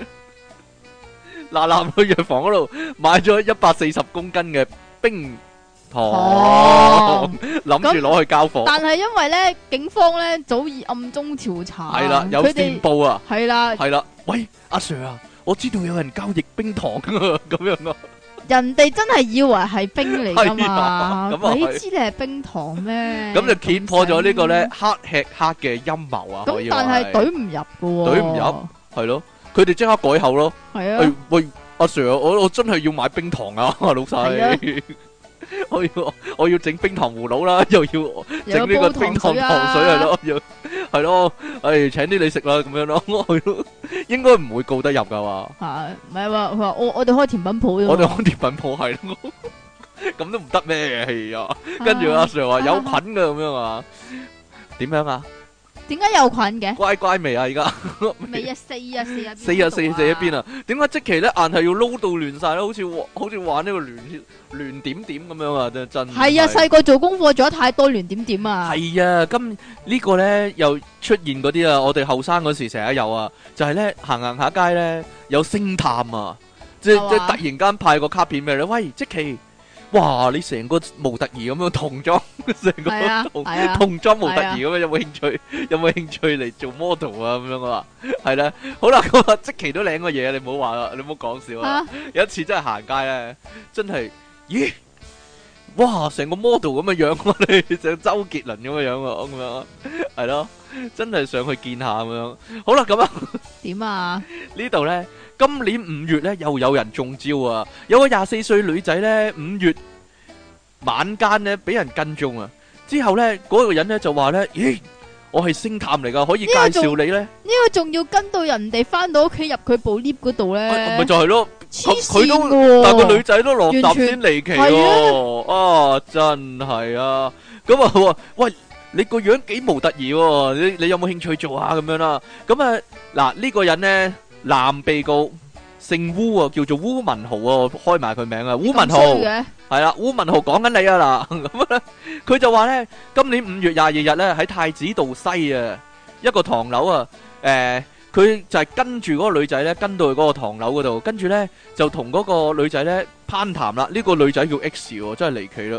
[SPEAKER 2] 嗱臨去藥房嗰度買咗140公斤嘅冰糖，諗住攞去交貨。但係因為咧，警方咧早已暗中調查，係啦，有線報啊，係啦，係啦。喂，阿 Sir 啊，我知道有人交易冰糖啊，咁樣咯。人哋真係以為係冰嚟噶嘛？你知你係冰糖咩？咁就揭破咗呢個咧黑吃黑嘅陰謀啊！咁但係懟唔入噶，懟唔入係咯？佢哋即刻改口咯。係啊，喂，阿 Sir，我真係要買冰糖啊，老細。我要整冰糖葫蘆啦，又要整呢個冰糖糖水係咯，又係咯，請啲你食啦咁樣咯，應該唔會告得入噶嘛。係，唔係話佢話我哋開甜品鋪，我哋開甜品鋪係咯，咁都唔得咩？係啊，跟住阿 Sir 話有菌噶咁樣啊，點樣啊？點解有菌嘅？乖乖味啊！而家未啊，四一邊啊？點解即期咧硬係要撈到亂晒咧？好似玩呢個亂點點咁樣啊！真係啊！細個做功課做得太多亂點點啊！係啊！今呢個咧又出現嗰啲啊！我哋後生嗰時成日有啊，就係咧行下街咧有星探啊！即係突然間派個卡片俾你，喂，即期。哇！你成個模特兒咁樣童裝，成個童裝模特兒咁樣，有冇興趣？有冇興趣嚟做 model 啊？咁樣啊？係咧，好啦，咁啊，即期都領個嘢，你唔好話啦，你唔好講笑啊！有一次真係行街咧，真係，咦？哇！成個 model 咁嘅樣，我哋成周杰倫咁嘅樣啊，咁樣係咯，真係上去見下咁樣。好啦，咁啊，點啊？呢度咧。今年5月咧，又有人中招啊！有個24歲女仔咧，5月晚間咧俾人跟蹤啊！之後咧，嗰個人咧就話咧：咦，我係星探嚟噶，可以介紹你咧？呢個仲要跟到人哋翻到屋企入佢部 lift 嗰度咧？咪就係咯，佢都，但個女仔都落搭先離奇喎！啊，真係啊！咁啊，佢話：喂，你個樣幾模特兒喎？你有冇興趣做下咁樣啦？咁啊，嗱呢個人咧。男被告姓烏啊，叫做烏文豪啊，開埋佢名啊，烏文豪係啦，烏文豪講緊你啊嗱，咁咧佢就話咧，今年5月22日咧喺太子道西啊一個唐樓啊，佢就係跟住嗰個女仔咧，跟到去嗰個唐樓嗰度，跟住咧就同嗰個女仔咧攀談啦。呢個女仔叫 X 喎，真係離奇啦。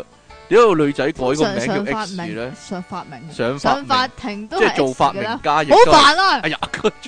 [SPEAKER 1] 點解個女仔改個名叫 X 咧？
[SPEAKER 2] 上法庭都
[SPEAKER 1] 即係做發明家，亦
[SPEAKER 2] 好煩啊！
[SPEAKER 1] 哎呀，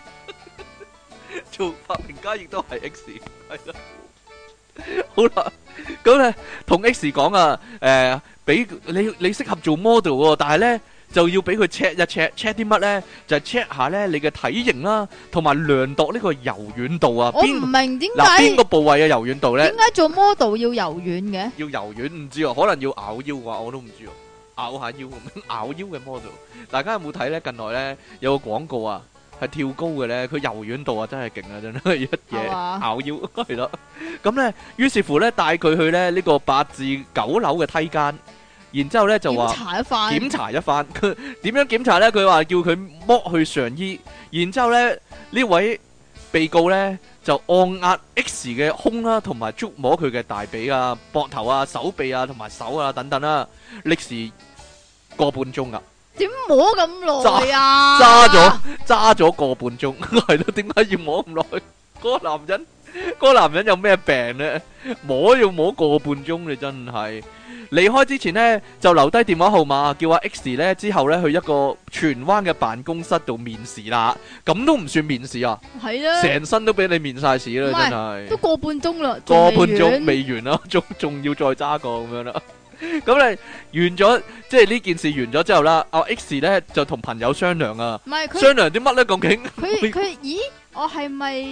[SPEAKER 1] 做發明家亦都係 X， 係啦。好啦，咁咧同 X 講啊，俾你適合做 model 喎，但係咧就要俾佢 check 一 check 啲乜咧？就係 check 下咧你嘅體型啦，同埋量度呢個柔軟度啊。
[SPEAKER 2] 我唔明點解
[SPEAKER 1] 邊個部位嘅柔軟度咧？
[SPEAKER 2] 點解做 model 要柔軟嘅？
[SPEAKER 1] 要柔軟唔知啊，可能要咬腰啩，我都唔知啊。咬下腰咁樣，咬腰嘅 model， 大家有冇睇咧？近來咧有個廣告啊，係跳高嘅咧，佢柔軟度啊真係勁啊，真係一嘢咬腰係咯。咁咧，於是乎咧帶佢去咧呢個8至9樓嘅梯間，然之後咧就話檢查一番。佢點樣檢查咧？佢話叫佢剝去上衣，然之後咧呢位被告咧就按壓 X 嘅胸啦，同埋觸摸佢嘅大髀啊、膊頭啊、手臂啊同埋手啊等等啦，歷時個半鐘啊！
[SPEAKER 2] 點摸咁耐啊？
[SPEAKER 1] 揸咗個半鐘，係咯？點解要摸咁耐？嗰個男人有咩病咧？要摸個半鐘，你真係離開之前呢，就留低電話號碼，叫阿 X 咧之後咧去一個荃灣嘅辦公室度面試啦。咁都唔算面試啊？係啊，成身都俾你面晒屎啦，真係。都個半鐘啦，個半鐘未完啦，仲要再揸個咁樣啦。咁你完咗，即係呢件事完咗之後啦，阿 X 咧就同朋友商量啊，商量啲乜咧？究竟佢咦？我係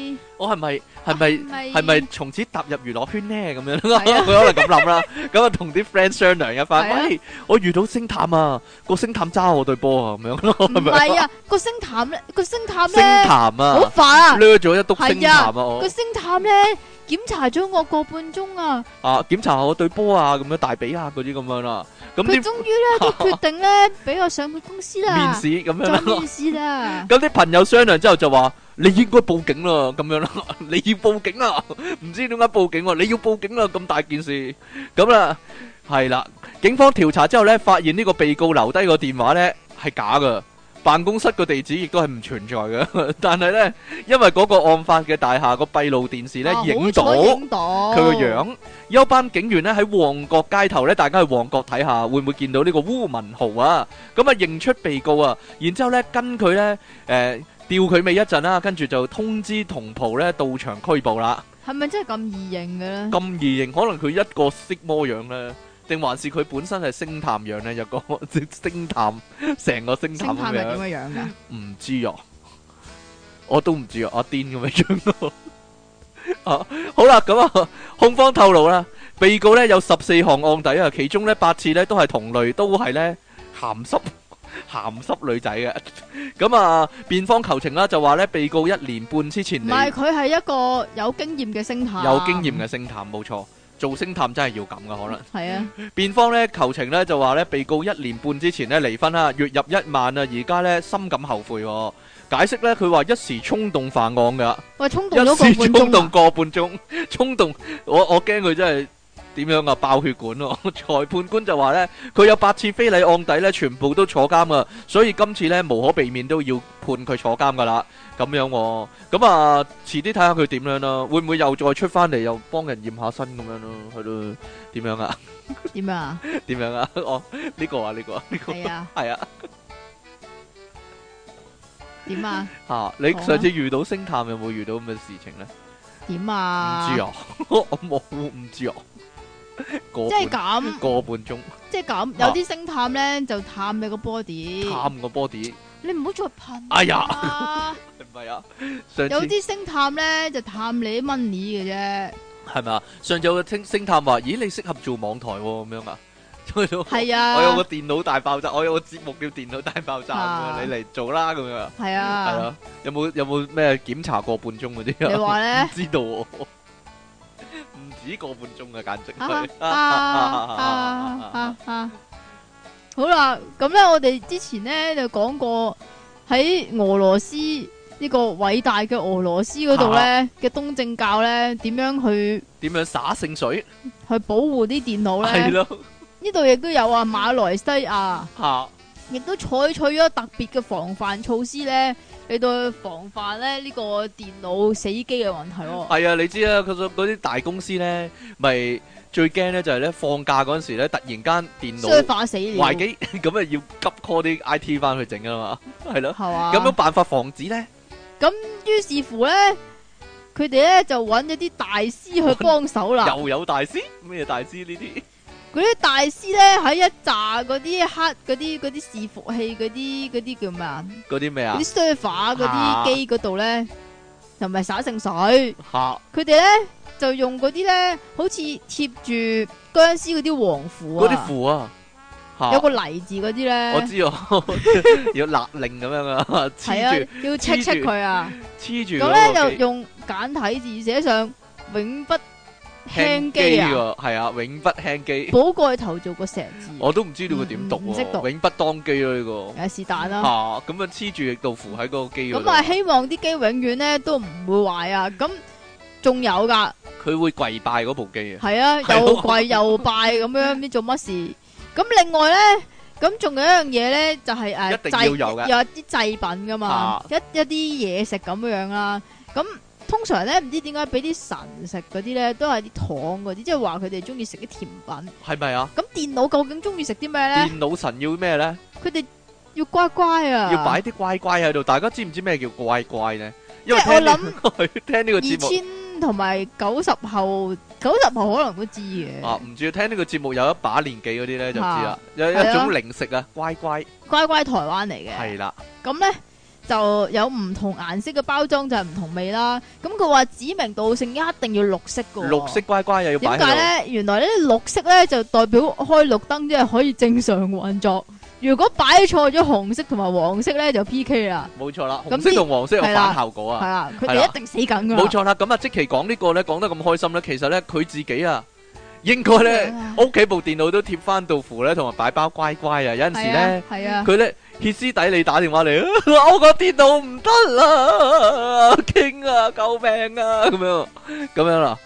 [SPEAKER 1] 咪從此踏入娛樂圈呢？咁樣佢可能咁諗啦。咁啊同啲 friend 商量一番，喂，我遇到星探啊，個星探揸我對波啊，咁樣咯。唔係啊，個星探咧，好煩啊，掠咗一篤星探啊，個星探咧。檢查咗我個半鐘啊！檢查下我對波啊，咁樣大髀啊，嗰啲咁樣啦。咁佢終於咧都決定咧，俾我上去公司啦。面試咁樣啦。面試啦。咁啲朋友商量之後就話：你應該報警啦，咁樣啦。你要報警啊！唔知點解報警喎？你要報警啦！咁大件事，咁啦，係啦。警方調查之後咧，發現呢個被告留低個電話咧係假噶。辦公室個地址亦都係唔存在嘅，但係呢，因為嗰個案發嘅大廈個閉路電視呢影到佢個樣，有班警員呢喺旺角街頭呢，大家去旺角睇下，會唔會見到呢個烏文豪啊？咁啊認出被告啊，然之後呢跟佢呢吊佢尾一陣啦，跟住就通知同袍呢到場拘捕啦。係咪真係咁易認嘅呢？咁易認，可能佢一個色魔樣呢。定還是佢本身係星探樣咧？有個星探，成個星探咁樣。星探係點樣樣噶？唔知啊，我都唔知啊，阿癲咁樣樣咯。啊，好啦，咁啊，控方透露啦，被告咧有14項案底啊，其中咧8次咧都係同類，都係咧鹹濕女仔嘅。咁啊，辯方求情啦，就話咧被告1年半之前嚟，唔係佢係一個有經驗嘅星探，有經驗嘅星探，冇錯。做星探真係要咁噶，可能係啊。辯方咧求情咧就話咧，被告1年半之前咧離婚啦，月入1萬啊，而家咧深感後悔。解釋咧，佢話一時衝動犯案噶。喂，衝動咗個半鐘啊！一時衝動個半鐘，衝動，我驚佢真係點樣啊？爆血管咯！裁判官就話咧，佢有8次非禮案底咧，全部都坐監啊，所以今次咧無可避免都要判佢坐監噶啦。咁樣喎，咁啊，遲啲睇下佢點樣啦，會唔會又再出翻嚟又幫人驗下身咁樣咯？係咯，點樣啊？點樣啊？點樣啊？哦，呢個啊，呢個，呢個係啊，係啊。點啊？嚇！你上次遇到星探有冇遇到咁嘅事情咧？點啊？唔知啊，我冇唔知啊。即係咁個半鐘，即係咁有啲星探咧就探你個 body，探個 body。你唔好再噴！哎呀，唔係啊，有啲星探咧就探你啲 money 嘅啫，係咪啊？上次有個星探話：咦，你適合做網台咁樣啊？係啊，我有個電腦大爆炸，我有個節目叫電腦大爆炸咁樣，你嚟做啦咁樣。係啊，係啊，有冇咩檢查個半鐘嗰啲啊？你話咧？唔知道，唔止個半鐘啊，簡直係。好啦，咁咧我哋之前咧就講過喺俄羅斯呢個偉大嘅俄羅斯嗰度咧嘅東正教咧點樣灑聖水去保護啲電腦咧？係咯，呢度亦都有啊，馬來西亞
[SPEAKER 2] 亦都採取咗特別嘅防範措施咧，嚟到防範咧呢個電腦死機嘅問題。
[SPEAKER 1] 係啊，你知啊，佢嗰啲大公司咧，咪最驚咧就係咧放假嗰陣時咧，突然間電腦壞機，咁啊要急 call 啲 IT 翻去整啊嘛，係咯，
[SPEAKER 2] 係嘛？
[SPEAKER 1] 有冇辦法防止咧？
[SPEAKER 2] 咁於是乎咧，佢哋咧就揾咗啲大師去幫手啦。
[SPEAKER 1] 又有大師？咩大師呢啲？
[SPEAKER 2] 嗰啲大師咧喺一紮嗰啲黑嗰啲伺服器嗰啲叫咩啊？嗰啲咩啊？嗰啲 server 嗰啲機嗰度咧，就唔係灑聖水。佢哋咧就用嗰啲咧，好似貼住僵屍嗰啲黃符啊。嗰啲符啊，有個黎字嗰啲咧。我知啊，要勒令咁樣啊，黐住要 check 佢啊，黐住。咁咧就用簡體字寫上永不輕機啊，係啊，永不輕機。補過頭做個石字，我都唔知道佢點讀，唔識讀，永不當機咯呢個。是但啦。吓，咁啊黐住亦道符喺嗰個機嗰度。咁啊，希望啲機永遠咧都唔會壞啊。咁仲有噶，佢會跪拜嗰部機啊。係啊，又跪又拜咁樣，唔知做乜事。咁另外咧，咁仲有一樣嘢咧，就係誒，一定要有嘅，有啲祭品噶嘛，一啲嘢食咁樣啦。咁通常咧唔知點解俾啲神食嗰啲咧，都係啲糖嗰啲，即係話佢哋中意食啲甜品。係咪啊？咁電腦究竟中意食啲咩咧？電腦神要咩咧？佢哋要乖乖啊！要擺啲乖乖喺度。大家知唔知咩叫乖乖咧？因為我諗聽呢個節目，2000同埋90後可能都知嘅。啊，唔知聽呢個節目有一把年紀嗰啲咧就知啦。有一種零食啊，乖乖台灣嚟嘅。係啦，咁咧。就有唔同顏色嘅包裝，就係唔同味啦。咁佢話指名道姓一定要綠色嘅。綠色乖乖又要擺喺度。點解咧？原來呢綠色咧就代表開綠燈，即係可以正常運作。如果擺錯咗紅色同埋黃色咧，就 PK 啦。冇錯啦，紅色同黃色有反效果啊。係啦，佢哋一定死梗噶。冇錯啦，咁啊，即期講呢個咧講得咁開心咧，其實咧佢自己啊。應該咧，屋企部電腦都貼翻道符咧，同埋擺包乖乖啊！有陣時咧，佢咧歇斯底里打電話嚟，我個電腦唔得啦，傾啊，救命啊！咁樣啦，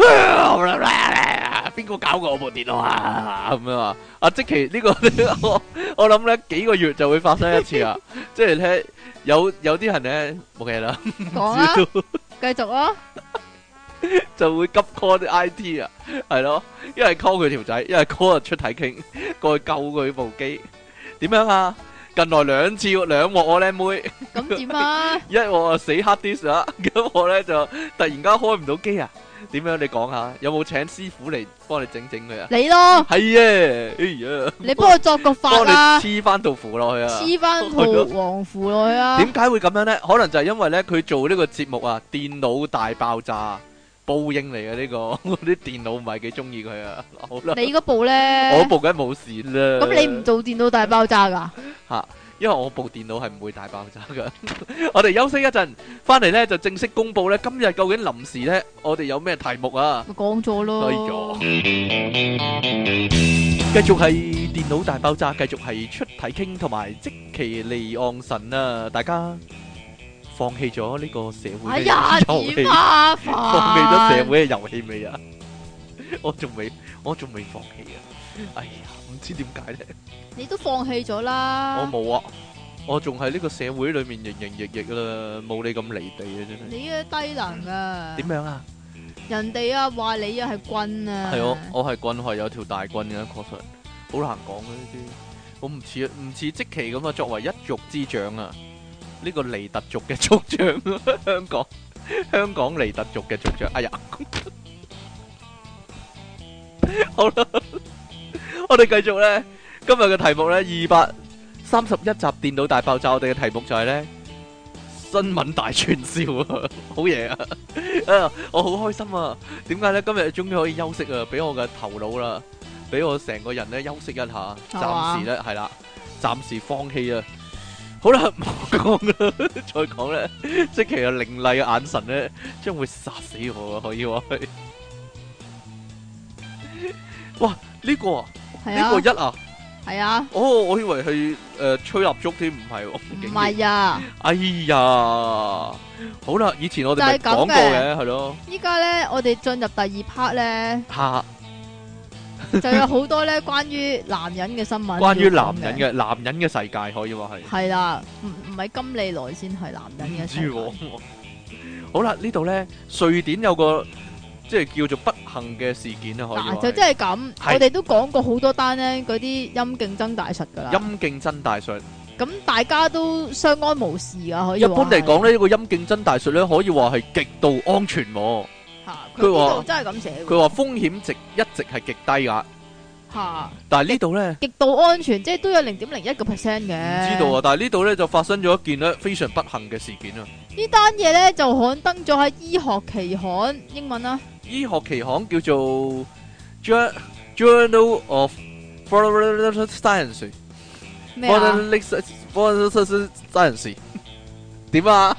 [SPEAKER 2] 邊個搞過我部電腦啊？咁樣啊！阿積淇呢個我諗咧幾個月就會發生一次啊！即係咧有啲人咧冇嘢啦，講啊，繼續啊！就會急 call 啲 IT 啊，係咯，一係 call 佢條仔，一係 call 出體傾過去救佢部機，點樣啊？近來兩鑊我靚妹，咁點啊？一鑊啊死 hard disk 啊，咁我咧就突然間開唔到機啊，點樣？你講下，有冇請師傅嚟幫你整佢啊？你咯，係啊，哎呀，你幫我作個法啊，黐翻道符落去啊，黐翻套黃符落去啊？點解會咁樣咧？可能就係因為咧佢做呢個節目啊，電腦大爆炸。報應嚟嘅呢個，我啲電腦唔係幾中意佢啊。好啦，你嗰部咧？我部梗係冇事啦。咁你唔做電腦大爆炸噶？吓，因為我部電腦係唔會大爆炸噶。我哋休息一陣，翻嚟咧就正式公布咧，今日究竟臨時咧，我哋有咩題目啊？講咗咯。繼續係電腦大爆炸，繼續係出體傾同埋積淇離岸神啊！大家。放棄咗呢個社會嘅遊戲，放棄咗社會嘅遊戲未啊？我仲未放棄啊！哎呀，唔知點解咧？你都放棄咗啦！我冇啊，我仲喺呢個社會裏面營營役役啦，冇你咁離地啊！真係你嘅低能啊！點樣啊？人哋啊話你啊係棍啊！係我係棍，係有條大棍嘅，確實好難講嘅呢啲。我唔似積淇咁啊，作為一族之長啊！呢個尼特族嘅族長，香港尼特族嘅族長。哎呀，好啦，我哋繼續咧，今日嘅題目咧231集電腦大爆炸，我哋嘅題目就係咧新聞大串燒啊，好嘢啊！啊，我好開心啊！點解咧？今日終於可以休息啊，俾我嘅頭腦啦，俾我成個人咧休息一下，暫時咧係啦，暫時放棄啊！好啦，唔講啦，再講咧，即其實凌厲嘅眼神咧，將會殺死我啊！可以話係，哇，呢個啊，呢個一啊，係啊，哦，我以為係吹蠟燭添，唔係，唔係啊，哎呀，好啦，以前我哋咪講過嘅，係咯，依家咧我哋進入第二 part 咧，吓， 就有好多咧關於男人嘅新聞，
[SPEAKER 1] 關於男人嘅世界可以話係。
[SPEAKER 2] 係啦，唔係金利來先係男人嘅世界。
[SPEAKER 1] 好啦，呢度咧瑞典有個即係叫做不幸嘅事件啦，可以話。
[SPEAKER 2] 就真係咁，我哋都講過好多單咧，嗰啲陰莖增大術噶啦。陰
[SPEAKER 1] 莖增大術。咁
[SPEAKER 2] 大家都相安無事噶，可以。
[SPEAKER 1] 一般嚟講咧，呢個陰莖增大術咧，可以話係極度安全。
[SPEAKER 2] 佢話真係咁寫。
[SPEAKER 1] 佢話風險值一直係極低噶。但係呢度咧，
[SPEAKER 2] 極度安全，即係都有0.01%嘅。
[SPEAKER 1] 唔知道啊，但係呢度咧就發生咗一件咧非常不幸嘅事件啊！
[SPEAKER 2] 呢單嘢咧就刊登咗喺醫學期刊，英文啦。醫
[SPEAKER 1] 學期刊叫做 Journal of Science。咩啊 ？Science 點啊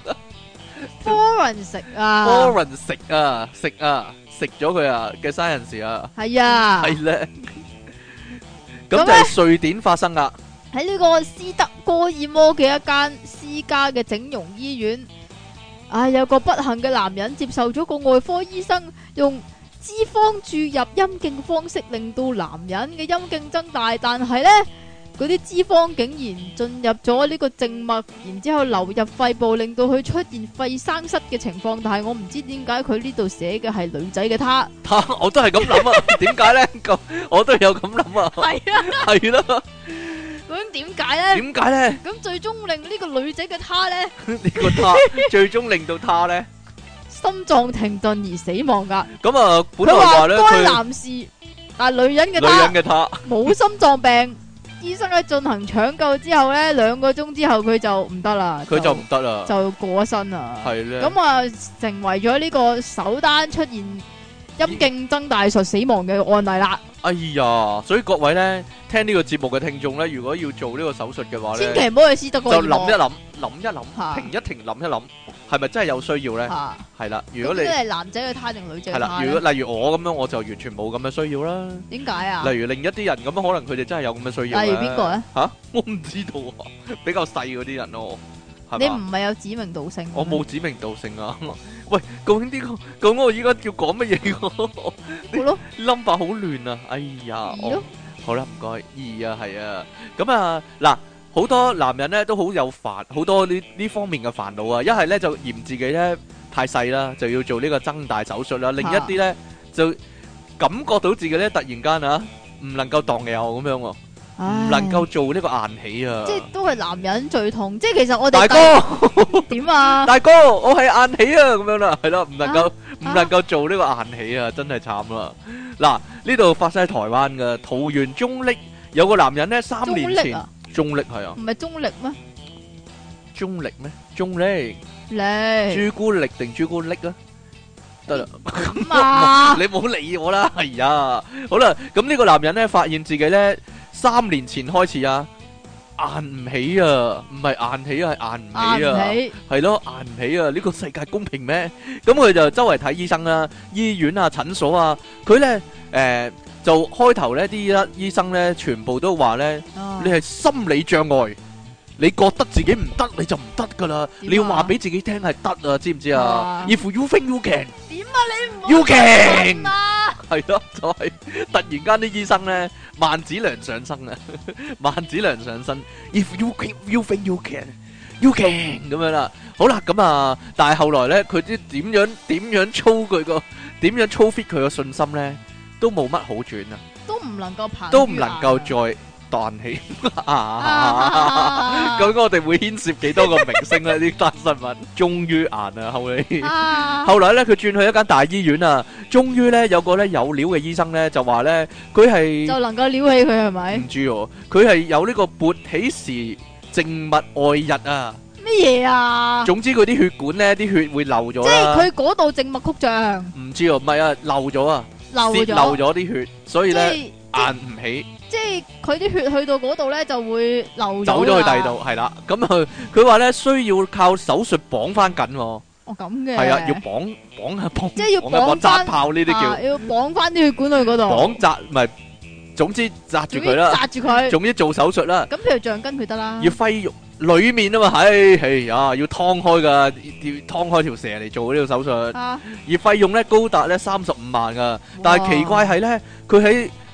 [SPEAKER 2] ？Forensic 啊
[SPEAKER 1] ！Forensic 啊，食咗佢啊嘅 Science 啊，
[SPEAKER 2] 係啊，
[SPEAKER 1] 係咧。咁就係瑞典發生噶。
[SPEAKER 2] 喺呢個斯德哥爾摩嘅一間私家嘅整容醫院，有個不幸嘅男人接受咗個外科醫生用脂肪注入陰莖嘅方式，令到男人嘅陰莖增大，但係呢，嗰啲脂肪竟然進入咗呢個靜脈，然之後流入肺部，令到佢出現肺生塞嘅情況。但係我唔知點解佢呢度寫嘅係女仔嘅她，
[SPEAKER 1] 我都係咁諗啊。點解呢？咁我都有咁諗啊。係啊，係咯。
[SPEAKER 2] 究竟點解呢？
[SPEAKER 1] 點解呢？
[SPEAKER 2] 咁最終令呢個女仔嘅她呢？
[SPEAKER 1] 呢個她最終令到她呢
[SPEAKER 2] 心臟停頓而死亡噶。
[SPEAKER 1] 咁啊，本來話咧，
[SPEAKER 2] 該男士但係女人嘅她冇心臟病。醫生喺進行搶救之後咧，2個鐘之後佢就唔得啦，
[SPEAKER 1] 佢就唔得啦，
[SPEAKER 2] 就過咗身啦。
[SPEAKER 1] 係咧，
[SPEAKER 2] 咁啊，成為咗呢個首單出現陰莖增大術死亡嘅案例啦。
[SPEAKER 1] 哎呀，所以各位咧聽呢個節目嘅聽眾咧，如果要做呢個手術嘅話咧，
[SPEAKER 2] 千祈唔好去斯德哥爾摩，
[SPEAKER 1] 就諗一諗，停一停，諗一諗，係咪真係有需要咧？係啦，如果你係男仔嘅他定女仔嘅他？係啦，如果例如我咁樣，我就完全冇咁嘅需要啦。點解啊？例如另一啲人咁樣，可能佢哋真係有咁嘅需要。例如邊個咧？吓，我唔知道啊，比較細嗰啲人咯。
[SPEAKER 2] 你唔係有指名道姓？
[SPEAKER 1] 我冇指名道姓啊！喂，究竟呢個咁我依家要講乜嘢？好咯，number 好亂啊！哎呀，好啦，唔該，2啊，係啊，咁啊嗱，好多男人咧都好有煩，好多呢方面嘅煩惱啊！一係咧就嫌自己咧太細啦，就要做呢個增大手術啦；另一啲咧就感覺到自己咧突然間啊唔能夠蕩右咁樣喎。唔能夠做呢個硬起啊！
[SPEAKER 2] 即係都係男人最痛，即係其實我哋
[SPEAKER 1] 大哥
[SPEAKER 2] 點啊？
[SPEAKER 1] 大哥，我係硬起啊！咁樣啦，係咯，唔能夠做呢個硬起啊！真係慘啦！嗱，呢度發生喺台灣嘅桃園中壢有個男人咧，3年前中壢係啊，
[SPEAKER 2] 唔係中壢咩？
[SPEAKER 1] 中壢咩？中壢朱古力定朱古力啊？得啦，咁啊，你唔好理我啦，係啊，好啦，咁呢個男人咧發現自己咧3年前開始啊硬唔起啊，唔係硬起啊，係硬唔起啊，係咯，硬唔起啊，呢個世界公平咩？咁佢就周圍睇醫生啦，醫院啊、診所啊，佢咧就開頭咧啲醫生咧全部都話咧，你係心理障礙。你覺得自己唔得，你就唔得噶啦！你要話俾自己聽係得啊，知唔知啊？If you think you can，
[SPEAKER 2] 點啊你唔
[SPEAKER 1] you can 係咯，就係突然間啲醫生咧萬梓良上身啊！萬梓良上身 ，If you think you can，you can 咁樣啦。好啦，咁啊，但係後來咧，佢啲點樣操佢個點樣操 fit 佢個信心咧，都冇乜好轉啊！
[SPEAKER 2] 都唔能夠爬，
[SPEAKER 1] 都唔能夠再彈起究竟我哋會牽涉幾多個明星咧？呢單新聞終於硬啊！後來咧，佢轉去一間大醫院啊，終於咧有個咧有料嘅醫生咧就話咧，佢係
[SPEAKER 2] 就能夠撩起佢係咪？
[SPEAKER 1] 唔知哦，佢係有呢個勃起時靜脈外溢啊！
[SPEAKER 2] 咩嘢啊？
[SPEAKER 1] 總之佢啲血管咧，啲血會漏咗啦。即
[SPEAKER 2] 係佢嗰度靜脈曲張？
[SPEAKER 1] 唔知哦，唔係啊，漏咗啊，泄漏咗啲血，所以咧硬唔起。
[SPEAKER 2] 即係佢啲血去到嗰度咧，就會流
[SPEAKER 1] 走咗去第二度，係啦。咁佢話咧需要靠手術綁翻緊。哦
[SPEAKER 2] 咁嘅。係
[SPEAKER 1] 啊，要綁，
[SPEAKER 2] 即係要綁
[SPEAKER 1] 紮炮呢啲叫。
[SPEAKER 2] 要綁翻啲血管去嗰度。
[SPEAKER 1] 綁紮唔係，總之紮住佢啦。紮住佢。總之做手術啦。
[SPEAKER 2] 咁譬如橡筋佢得啦。
[SPEAKER 1] 要揮肉裏面啊嘛，係啊，要劏開噶，要劏開條蛇嚟做呢個手術。而費用咧高達咧35萬噶，但係奇怪係咧，佢喺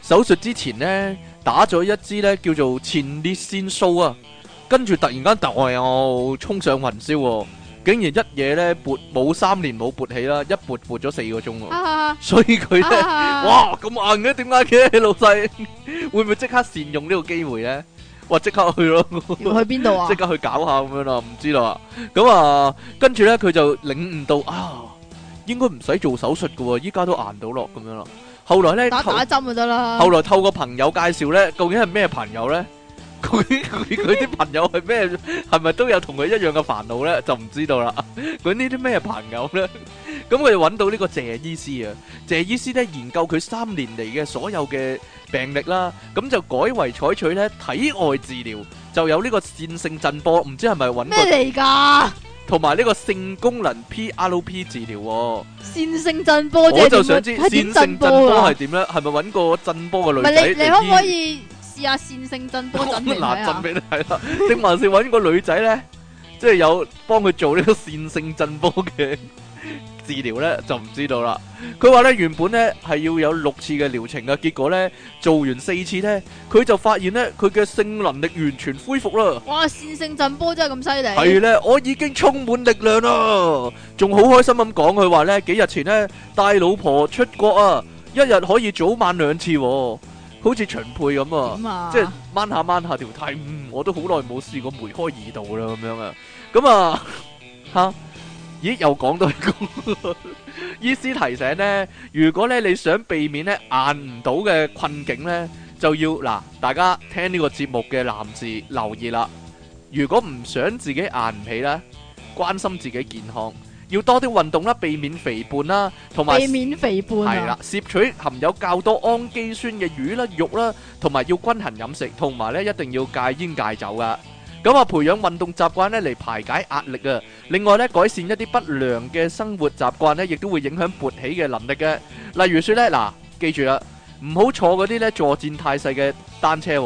[SPEAKER 1] 手術之前呢，打咗一支呢叫做前列腺素啊，跟住突然間又衝上雲霄喎，竟然一嘢呢撥冇3年冇撥起啦，一撥咗4個鐘喎，所以佢呢，哇咁硬嘅，點解嘅老細？會唔會即刻善用呢個機會呢？哇！即刻去咯，
[SPEAKER 2] 去邊度啊？
[SPEAKER 1] 即刻去搞下咁樣啦，唔知啦。咁啊，跟住咧佢就領悟到啊，應該唔使做手術噶，依家都硬到落咁樣啦。後來咧
[SPEAKER 2] 打針就得啦。
[SPEAKER 1] 後來透過朋友介紹咧，究竟係咩朋友咧？佢啲朋友係咩？係咪都有同佢一樣嘅煩惱咧？就唔知道啦。佢呢啲咩朋友咧？咁佢就揾到呢個謝醫師啊。謝醫師咧研究佢3年嚟嘅所有嘅病歷啦，咁就改為採取咧體外治療，就有呢個線性震波，唔知係咪揾
[SPEAKER 2] 咩嚟㗎？
[SPEAKER 1] 同埋呢個性功能 PRP 治療喎。
[SPEAKER 2] 線性震波，
[SPEAKER 1] 我就想知線性震波係點咧？係咪揾個震波嘅女仔？
[SPEAKER 2] 唔係你可唔可以試下線性震波震嚟睇下？
[SPEAKER 1] 震俾你睇啦，定還是揾個女仔咧？即係有幫佢做呢個線性震波嘅治療咧，就唔知道啦。佢話咧原本咧係要有6次嘅療程嘅，結果咧做完4次咧，佢就發現咧佢嘅性能力完全恢復啦。
[SPEAKER 2] 哇！線性震波真係咁犀利。
[SPEAKER 1] 係咧，我已經充滿力量啦，仲好開心咁講。佢話咧幾日前咧帶老婆出國啊，一日可以早晚2次，好似長輩咁啊，即係掹下條呔。我都好耐冇試過梅開2度啦咁樣啊。咁啊吓。咦，又講到一個醫師提醒呢，如果咧你想避免咧硬唔到嘅困境呢，就要嗱，大家聽呢個節目嘅男士留意啦。如果唔想自己硬唔起啦，關心自己健康，要多啲運動啦，避免肥胖啦，同埋
[SPEAKER 2] 避免肥胖
[SPEAKER 1] 係啦，攝取含有較多氨基酸嘅魚啦、肉啦，同埋要均衡飲食，同埋咧一定要戒煙戒酒噶。咁啊，培養運動習慣咧嚟排解壓力啊！另外咧，改善一啲不良嘅生活習慣咧，亦都會影響勃起嘅能力嘅。例如說咧，嗱，記住啦，唔好坐嗰啲咧坐墊太細嘅單車，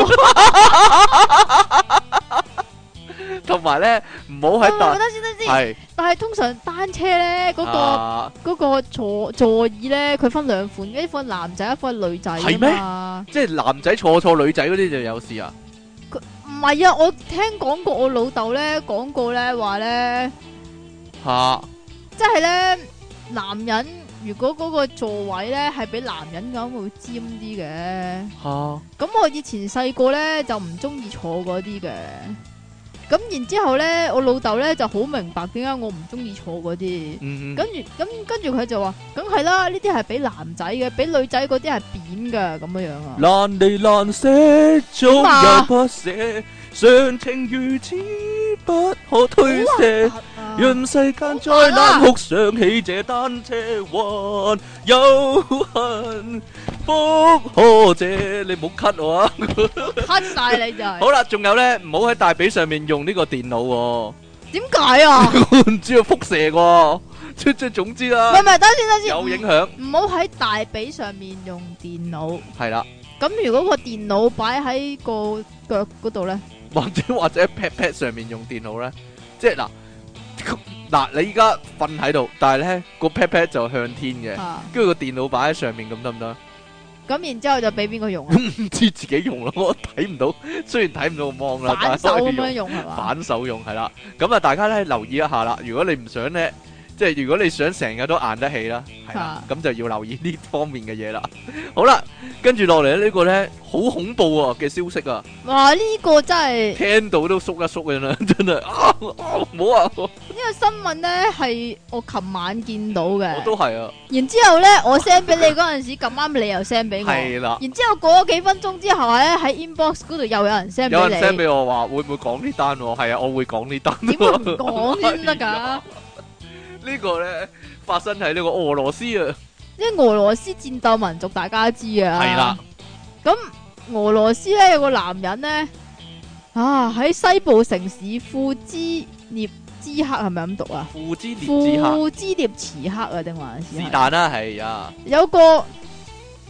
[SPEAKER 1] 同埋咧唔好喺
[SPEAKER 2] 等先，係，但係通常單車咧嗰個座椅咧，佢分2款，一款男仔，一款女仔。係咩？
[SPEAKER 1] 即係男仔坐女仔嗰啲就有事啊？
[SPEAKER 2] 唔係啊，我聽講過我老豆咧講過咧話咧即係咧男人如果嗰個座位咧係比男人咁會尖啲嘅咁我以前細個咧就唔中意坐嗰啲嘅，咁然之後咧我老豆咧就好明白點解我唔中意坐嗰啲，跟住佢就話梗係啦，呢啲係俾男仔嘅，俾女仔嗰啲係扁噶咁樣樣啊。難離難捨，總有不捨，常情如此不可推卸，讓世間再難哭，想起這單車還有恨，福可謝。你唔好 cut 我啊！cut 晒你就係。好啦，仲有咧，唔好喺大髀上面用呢個電腦。點解啊？唔知道輻射喎。即總之啦。唔係，等先。有影響。唔好喺大髀上面用電腦。係啦。咁如果個電腦擺喺個腳嗰度咧？或者 pat 上面用電腦咧？即係嗱，你依家瞓喺度，但係咧個 pat 就向天嘅，跟住個電腦擺喺上面，咁得唔得？咁然之後就俾邊個用啊？唔知自己用咯，我睇唔到，雖然睇唔到個 mon啦，反手咁樣用係嘛？反手用係啦，咁啊大家咧留意一下啦。如果你唔想咧，即係如果你想成日都硬得起啦，係啦，咁就要留意呢方面嘅嘢啦。好啦，跟住落嚟呢個咧好恐怖嘅消息啊！哇，呢個真係聽到都縮一縮嘅啦，真係啊！唔好啊！呢個新聞咧係我琴晚見到嘅，我都係啊。然之後咧，我 send 俾你嗰陣時咁啱，你又 send 俾我，係啦。然之後過咗幾分鐘之後咧，喺 inbox 嗰度又有人 send 俾你，有人 send 俾我話會唔會講呢單？係啊，我會講呢單。點解唔講先得噶？呢個咧發生喺呢個俄羅斯啊，即係俄羅斯戰鬥民族，大家都知啊。係啦，咁俄羅斯咧有個男人咧喺西部城市庫茲涅茲克，係咪咁讀啊？庫茲涅茲茲克啊，定還是但啦？係啊，有個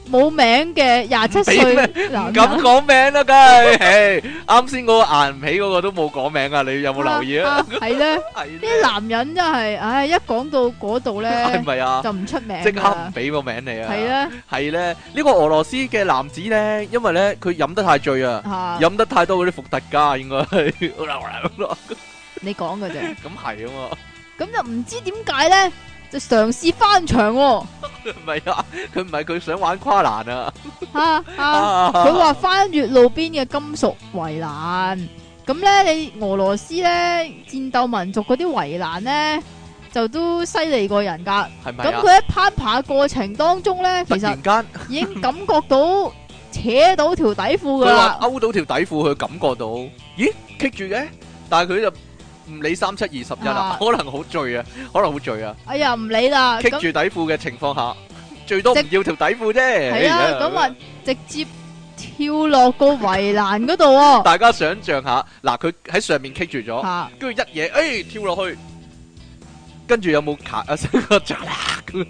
[SPEAKER 2] 冇名嘅27歲男人，
[SPEAKER 1] 唔敢講名啦，梗係。啱先嗰個捱唔起嗰個都冇講名啊，你有冇留意啊？
[SPEAKER 2] 係咧，啲男人真係，唉，一講到嗰度咧，
[SPEAKER 1] 係咪啊？
[SPEAKER 2] 就唔出名，
[SPEAKER 1] 即刻唔俾個名你啊！
[SPEAKER 2] 係咧，
[SPEAKER 1] 係咧，呢個俄羅斯嘅男子咧，因為咧佢飲得太醉啊，飲得太多嗰啲伏特加，應該係。
[SPEAKER 2] 你講嘅啫。
[SPEAKER 1] 咁係啊嘛。
[SPEAKER 2] 咁就唔知點解咧，就嘗試翻牆喎。
[SPEAKER 1] 唔係啊，佢唔係佢想玩跨欄啊。
[SPEAKER 2] 佢話翻越路邊嘅金屬圍欄。咁咧，你俄羅斯咧戰鬥民族嗰啲圍欄咧，就都犀利過人噶。
[SPEAKER 1] 係咪啊？
[SPEAKER 2] 咁佢喺攀爬過程當中咧，其實已經感覺到扯到條底褲噶啦。
[SPEAKER 1] 佢話勾到條底褲，佢感覺到，咦，棘住嘅，但係佢就唔理3721啦，可能好醉啊，可能好醉啊。
[SPEAKER 2] 哎呀，唔理啦，
[SPEAKER 1] 棘住底褲嘅情況下，最多唔要條底褲啫。
[SPEAKER 2] 係啊，咁啊，直接跳落個圍欄嗰度喎。
[SPEAKER 1] 大家想象下，嗱，佢喺上面棘住咗，跟住一嘢，跳落去，跟住有冇咔一聲個嚓啦咁？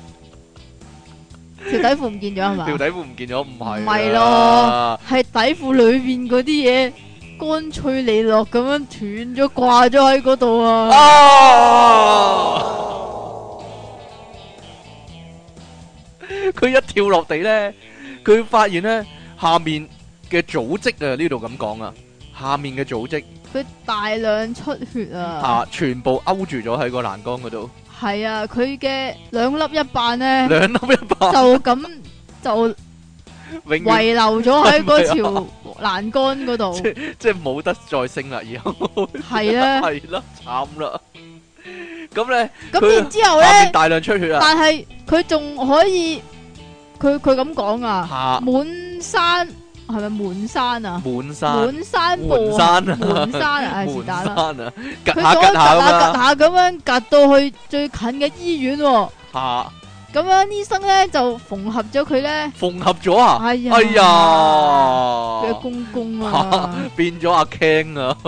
[SPEAKER 2] 條底褲唔見咗係嘛？
[SPEAKER 1] 條底褲唔見咗，唔係。
[SPEAKER 2] 唔係咯，係底褲裏邊嗰啲嘢。乾脆利落咁樣斷咗掛咗喺嗰度啊！
[SPEAKER 1] 佢一跳落地咧，佢發現咧下面嘅組織啊，呢度咁講啊，下面嘅組織
[SPEAKER 2] 佢大量出血啊！
[SPEAKER 1] 全部勾住咗喺個欄杆嗰度。係
[SPEAKER 2] 啊，佢嘅兩粒一瓣咧，
[SPEAKER 1] 兩粒一瓣
[SPEAKER 2] 就咁就遺留咗喺嗰條欄杆嗰度，
[SPEAKER 1] 即係冇得再升啦，以後
[SPEAKER 2] 係啦，
[SPEAKER 1] 係啦，慘啦。咁咧，
[SPEAKER 2] 咁然之後咧，
[SPEAKER 1] 大量出血啊！
[SPEAKER 2] 但係佢仲可以，佢咁講啊，滿山係咪滿山啊？
[SPEAKER 1] 滿山
[SPEAKER 2] 滿山步，滿山啊，係是但啦。佢
[SPEAKER 1] 趌下
[SPEAKER 2] 咁樣趌到去最近嘅醫院喎。咁樣醫生咧就縫合咗佢咧，
[SPEAKER 1] 縫合咗啊！哎呀，
[SPEAKER 2] 嘅公公啊，
[SPEAKER 1] 變咗阿 Ken 啊，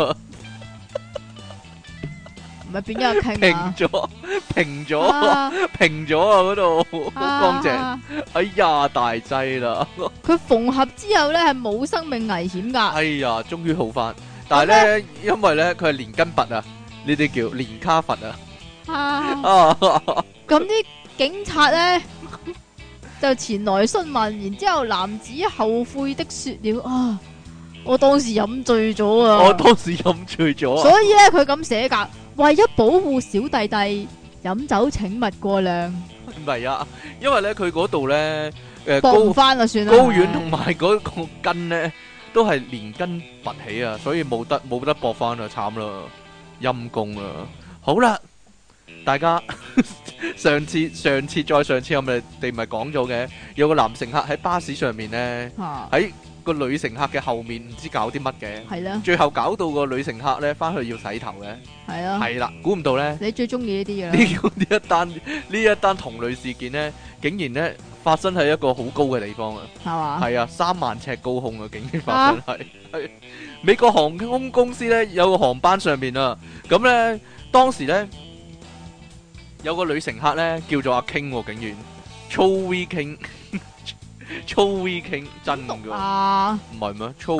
[SPEAKER 2] 唔係變咗阿 Ken 啊，
[SPEAKER 1] 平咗啊，嗰度好乾淨。哎呀，大劑啦！
[SPEAKER 2] 佢縫合之後咧係冇生命危險噶。
[SPEAKER 1] 哎呀，終於好翻，但係咧因為咧佢係連根拔啊，呢啲叫連卡佛啊。
[SPEAKER 2] 咁啲警察咧就前來詢問，然之後男子後悔的說了啊，我當時飲醉咗啊！所以咧佢咁寫噶，為咗保護小弟弟，飲酒請勿過量。
[SPEAKER 1] 唔係啊，因為咧佢嗰度咧
[SPEAKER 2] 駁唔翻就算啦，
[SPEAKER 1] 睾丸同埋嗰個筋咧都係連根拔起啊，所以冇得駁翻啊，慘啦，陰公啊！好啦。大家上次再上次我哋咪講咗嘅，有個男乘客喺巴士上面咧，喺個女乘客嘅後面唔知搞啲乜嘅，係啦，最後搞到個女乘客咧翻去要洗頭嘅，係啊，係啦，估唔到咧，你最中意呢啲嘅呢一單同類事件咧，竟然咧發生喺一個好高嘅地方啊，係嘛，係啊，3萬尺高空啊，竟然發生係美國航空公司咧有個航班上面啊，咁咧當時咧。有個女乘客咧叫做阿 King，竟然粗 V King， 粗 V King 真噶，唔係咩？粗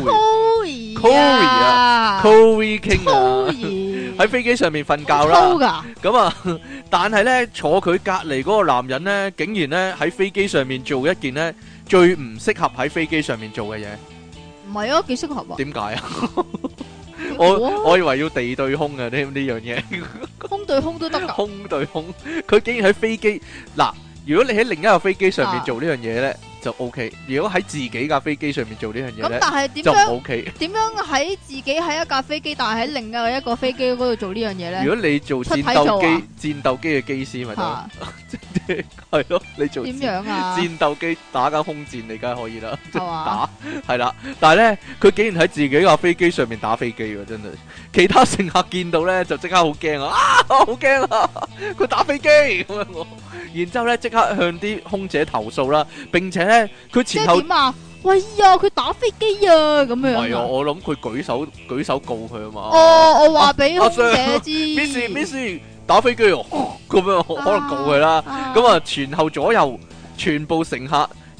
[SPEAKER 1] V 啊，粗 V King 啊，喺飛機上面瞓覺啦。咁啊，但係咧坐佢隔籬嗰個男人咧，竟然咧喺飛機上面做一件咧最唔適合喺飛機上面做嘅嘢。唔係啊，幾適合啊？點解啊？我以為要地對空嘅呢樣嘢，空對空都得噶。空對空，佢竟然喺飛機嗱，如果你喺另一架飛機上面做呢樣嘢咧，就 OK。如果喺自己架飛機上面做呢樣嘢咧，咁但係點樣就唔 OK？點樣喺自己喺一架飛機，但係喺另一個飛機嗰度做呢樣嘢咧？如果你做戰鬥機嘅機師咪得，係咯，你做點樣啊？戰鬥機打緊空戰，你梗係可以啦，打係啦。但係咧，佢竟然喺自己架飛機上面打飛機喎，真係。其他乘客見到咧就即刻好驚啊！好驚啊！佢打飛機咁樣我，然之後咧即刻向啲空姐投訴啦，並且咧佢前後點啊？喂呀，佢打飛機啊！咁樣係啊，我諗佢舉手告佢啊嘛。哦，我話俾空姐知，Miss 打飛機哦，咁樣可能告佢啦。咁啊，前後左右全部乘客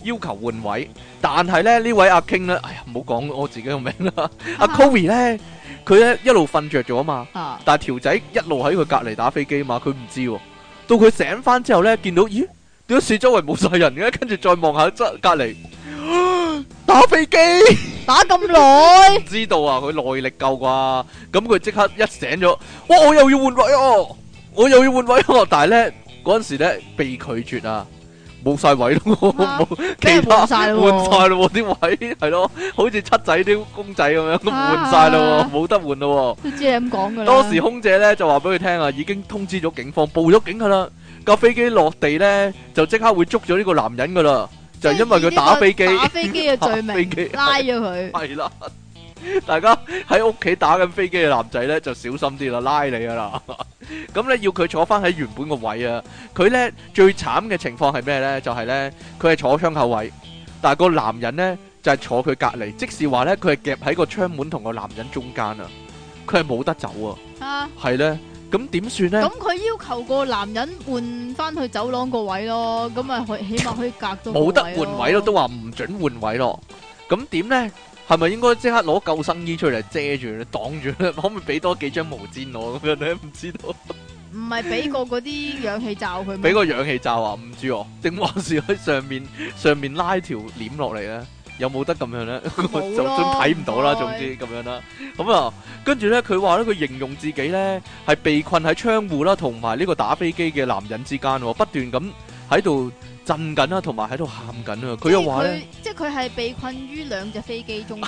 [SPEAKER 1] 要求換位，但係咧呢位阿 King 咧，哎呀唔好講我自己個名啦，阿 Kobe 咧佢咧一路瞓着咗啊嘛，但係條仔一路喺佢隔離打飛機嘛，佢唔知喎，到佢醒翻之後咧，見到咦點解四周圍冇晒人嘅，跟住再望下隔離打飛機
[SPEAKER 2] 打咁耐，
[SPEAKER 1] 唔知道啊，佢耐力夠啩，咁佢即刻一醒咗，哇我又要換位哦，我又要換位哦，但係咧嗰陣時咧被拒絕啊。冇晒位咯，冇其他換晒咯啲位係咯，好似七仔啲公仔咁樣換晒咯，冇得換咯。
[SPEAKER 2] 都知你咁講噶啦。
[SPEAKER 1] 當時空姐咧就話俾佢聽啊，已經通知咗警方，報咗警噶啦。架飛機落地咧就即刻會捉咗呢個男人噶啦，就係因為佢打飛機，
[SPEAKER 2] 打飛機嘅罪名拉咗佢。係啦。
[SPEAKER 1] 大家喺屋企打緊飛機嘅男仔咧就小心啲啦，拉你噶啦。咁咧要佢坐翻喺原本個位啊。佢咧最慘嘅情況係咩咧？就係咧佢係坐窗口位，但係個男人咧就係坐佢隔離，即是話咧佢係夾喺個窗門同個男人中間啊。佢係冇得走啊。係咧，咁點算咧？咁
[SPEAKER 2] 佢要求個男人換翻去走廊個位咯，咁啊起碼可以隔到。
[SPEAKER 1] 冇得換位咯，都話唔准換位咯。咁點咧？係咪應該即刻攞救生衣出嚟遮住咧，擋住咧？可唔可以俾多幾張毛毯我咁樣咧？唔知道。唔
[SPEAKER 2] 係俾個嗰啲氧氣罩佢？
[SPEAKER 1] 俾個氧氣罩啊？唔知哦。定還是喺上面拉條簾落嚟咧？有冇得咁樣咧？就算睇唔到啦，總之咁樣啦。咁啊，跟住咧，佢話咧，佢形容自己咧係被困喺窗戶啦，同埋呢個打飛機嘅男人之間，不斷咁喺度震緊啦，同埋喺度喊緊啊！佢又話咧，
[SPEAKER 2] 即係佢係被困於兩隻飛機中間。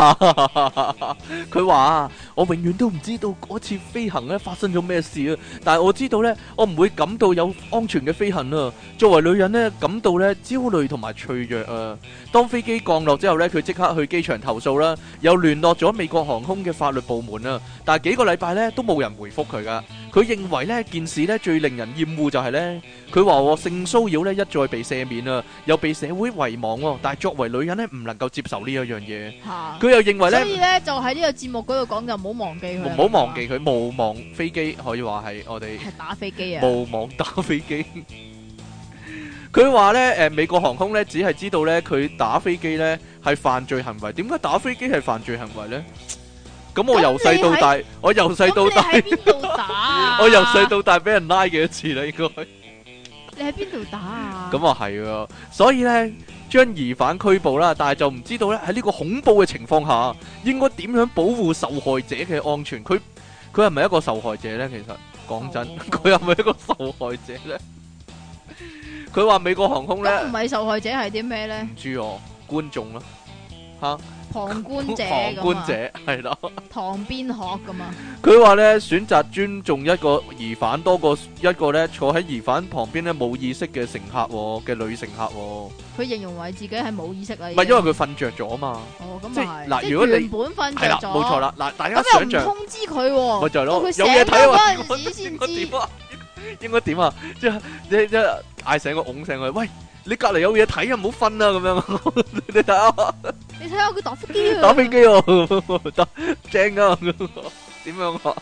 [SPEAKER 1] 佢話我永遠都唔知道嗰次飛行咧發生咗咩事啊！但係我知道咧，我唔會感到有安全嘅飛行啊！作為女人咧，感到咧焦慮同埋脆弱啊！當飛機降落之後咧，佢即刻去機場投訴啦，又聯絡咗美國航空嘅法律部門啊！但係幾個禮拜咧都冇人回覆佢噶。佢認為呢件事咧最令人厭惡就係咧，佢話性騷擾咧一再被赦免啊，又被社會遺忘喎。但係作為女人咧，唔能夠接受呢一樣嘢。佢又認為咧，
[SPEAKER 2] 所以咧就喺呢個節目嗰度講就唔好忘記佢。
[SPEAKER 1] 唔好忘記佢，無望飛機可以話係我哋
[SPEAKER 2] 係打飛機啊，
[SPEAKER 1] 無望打飛機。佢話咧美國航空咧只係知道咧佢打飛機咧係犯罪行為。點解打飛機係犯罪行為咧？咁我由細到大，我由細到大，我由細到大俾人拉幾多次啦？應該
[SPEAKER 2] 你喺邊度打啊？
[SPEAKER 1] 咁啊係啊，所以咧將疑犯拘捕啦，但係就唔知道咧喺呢個恐怖嘅情況下，應該點樣保護受害者嘅安全？佢係咪一個受害者咧？其實講真，佢係咪一個受害者咧？佢話美國航空咧，
[SPEAKER 2] 咁唔係受害者係啲咩咧？
[SPEAKER 1] 唔知哦，觀眾啦，吓。
[SPEAKER 2] 旁觀者
[SPEAKER 1] 係咯，
[SPEAKER 2] 旁邊學噶嘛。
[SPEAKER 1] 佢話咧選擇尊重一個疑犯多過一個咧坐喺疑犯旁邊咧冇意識嘅乘客嘅女乘客。
[SPEAKER 2] 佢形容為自己係冇意識啦。
[SPEAKER 1] 唔係因為佢瞓着咗嘛。
[SPEAKER 2] 哦，咁啊係。
[SPEAKER 1] 嗱，如果你
[SPEAKER 2] 原本瞓着咗，
[SPEAKER 1] 冇錯啦。嗱，大家想象。
[SPEAKER 2] 咁又唔通知佢？
[SPEAKER 1] 咪就係咯，
[SPEAKER 2] 有嘢睇嗰陣時先知。
[SPEAKER 1] 應該點啊？即係嗌醒個拱醒佢，喂！你隔籬有嘢睇啊，唔好瞓啊！咁樣，你睇下，
[SPEAKER 2] 你睇下佢打飛機啊！
[SPEAKER 1] 打飛機啊，得正啊！點樣啊？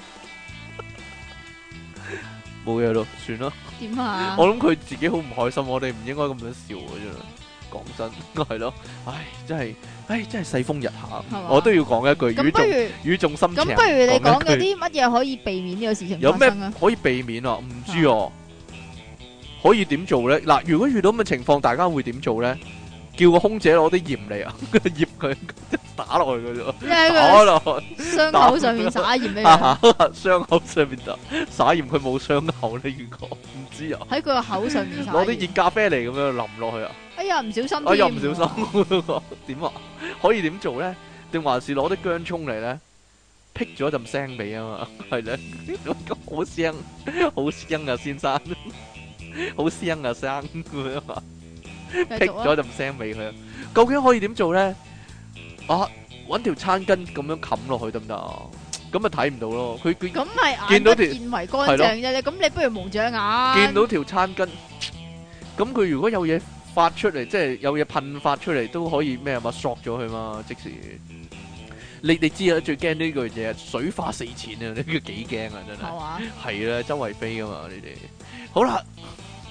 [SPEAKER 1] 冇嘢咯，算啦。
[SPEAKER 2] 點啊？
[SPEAKER 1] 我諗佢自己好唔開心，我哋唔應該咁樣笑嘅啫。講真，係咯，真係世風日下，我都要講一句語重心長。
[SPEAKER 2] 咁不如你講嗰啲乜嘢可以避免呢個事情發生啊？
[SPEAKER 1] 有咩可以避免啊？唔知哦。可以點做咧？嗱，如果遇到咁嘅情況，大家會點做咧？叫個空姐攞啲鹽嚟啊，醃佢打落去嘅啫，打落
[SPEAKER 2] 傷口上面灑鹽咩樣？
[SPEAKER 1] 傷口上面灑鹽，佢冇傷口咧，如果唔知啊。
[SPEAKER 2] 喺佢個口上面灑。攞
[SPEAKER 1] 啲熱咖啡嚟咁樣淋落去啊！
[SPEAKER 2] 哎呀，唔小心！
[SPEAKER 1] 哎呀，唔小心！點啊？可以點做咧？定還是攞啲薑葱嚟咧？辟咗陣腥味啊嘛，係咧，好香，好香啊，先生。好腥啊，生咁樣啊，辟咗陣腥味佢。究竟可以點做咧？啊，搵條餐巾咁樣冚落去得唔得啊？咁咪睇唔到咯。佢
[SPEAKER 2] 咁係眼不見為乾淨啫。咁你不如蒙住眼。
[SPEAKER 1] 見到條餐巾，咁佢如果有嘢發出嚟，即係有嘢噴發出嚟，都可以咩啊嘛？索咗佢嘛，即時。你知啊，最驚呢句嘢，水花四濺啊！呢個幾驚啊，真係。係啊，周圍飛噶嘛，你哋。好啦。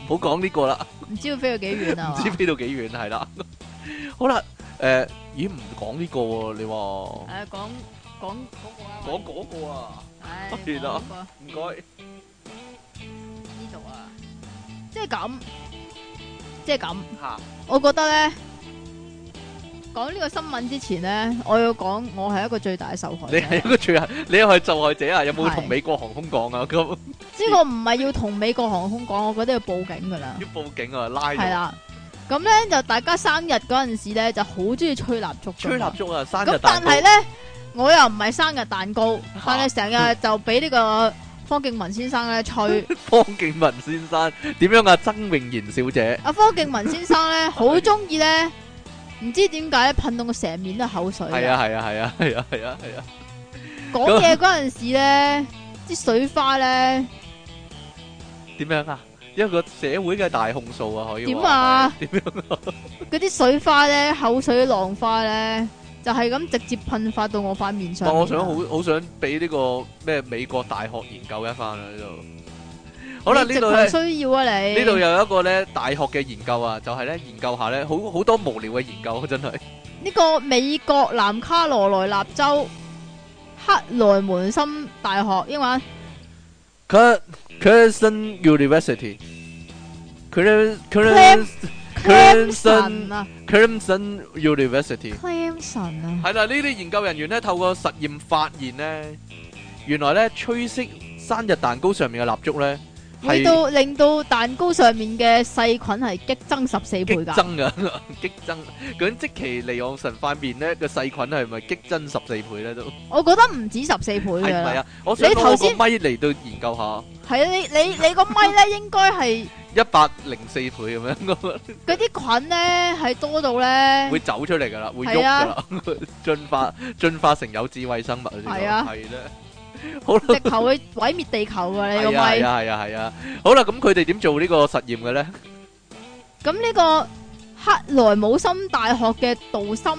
[SPEAKER 1] 唔好講呢個啦。
[SPEAKER 2] 唔知要飛到幾遠啊？
[SPEAKER 1] 唔知飛到幾遠係啦。好啦，咦唔講呢個喎？你話講嗰個啊？係啦，唔該。
[SPEAKER 2] 呢度啊，即係咁。吓，我覺得咧，講呢個新聞之前咧，我要講我係一個最大嘅受害者。
[SPEAKER 1] 你係一個你又係受害者啊？有冇同美國航空講啊？咁
[SPEAKER 2] 呢個唔係要同美國航空講，我覺得要報警噶啦。
[SPEAKER 1] 要報警啊！拉
[SPEAKER 2] 係啦。咁咧就大家生日嗰陣時咧就好中意吹蠟燭。吹
[SPEAKER 1] 蠟燭啊！生日蛋糕。咁
[SPEAKER 2] 但係咧，我又唔係生日蛋糕，但係成日就俾呢個方敬文先生咧吹。
[SPEAKER 1] 方敬文先生點樣啊？曾穎賢小姐。
[SPEAKER 2] 阿方敬文先生咧好中意咧，唔知點解咧噴到我成面都口水。
[SPEAKER 1] 係啊！
[SPEAKER 2] 講嘢嗰陣時咧，啲水花咧
[SPEAKER 1] 點樣啊？一個社會嘅大控訴啊，可以點
[SPEAKER 2] 啊？
[SPEAKER 1] 點樣啊？
[SPEAKER 2] 嗰啲水花咧，口水浪花咧，就係咁直接噴發到我塊面上。
[SPEAKER 1] 我想好想俾呢個咩美國大學研究一番啊！呢度好啦，呢度咧
[SPEAKER 2] 需要啊你
[SPEAKER 1] 呢度又有一個咧大學嘅研究啊，就係咧研究下咧好多無聊嘅研究，真係
[SPEAKER 2] 呢個美國南卡羅來納州克萊門森大學英文。
[SPEAKER 1] Clemson University， Clemson University，
[SPEAKER 2] Clemson 啊，
[SPEAKER 1] 係啦，呢啲研究人員咧透過實驗發現咧，原來咧吹熄生日蛋糕上面嘅蠟燭咧，
[SPEAKER 2] 令到蛋糕上面嘅細菌係激增14倍噶，
[SPEAKER 1] 激增噶，激增。究竟積淇離岸神塊面咧個細菌係咪激增14倍咧都？我覺得唔止14倍嘅。係咪啊？我想攞個咪嚟到研究下。係啊，
[SPEAKER 2] 你個咪咧應該係
[SPEAKER 1] 104倍咁樣。
[SPEAKER 2] 嗰啲菌咧係多到咧
[SPEAKER 1] 會走出嚟噶啦，會喐噶啦，進化成有智慧生物。係啊，係咧。好啦，
[SPEAKER 2] 直頭會毀滅地球噶你個咪。
[SPEAKER 1] 係啊。好啦，咁佢哋點做呢個實驗嘅咧？
[SPEAKER 2] 咁呢個克萊姆森大學嘅杜森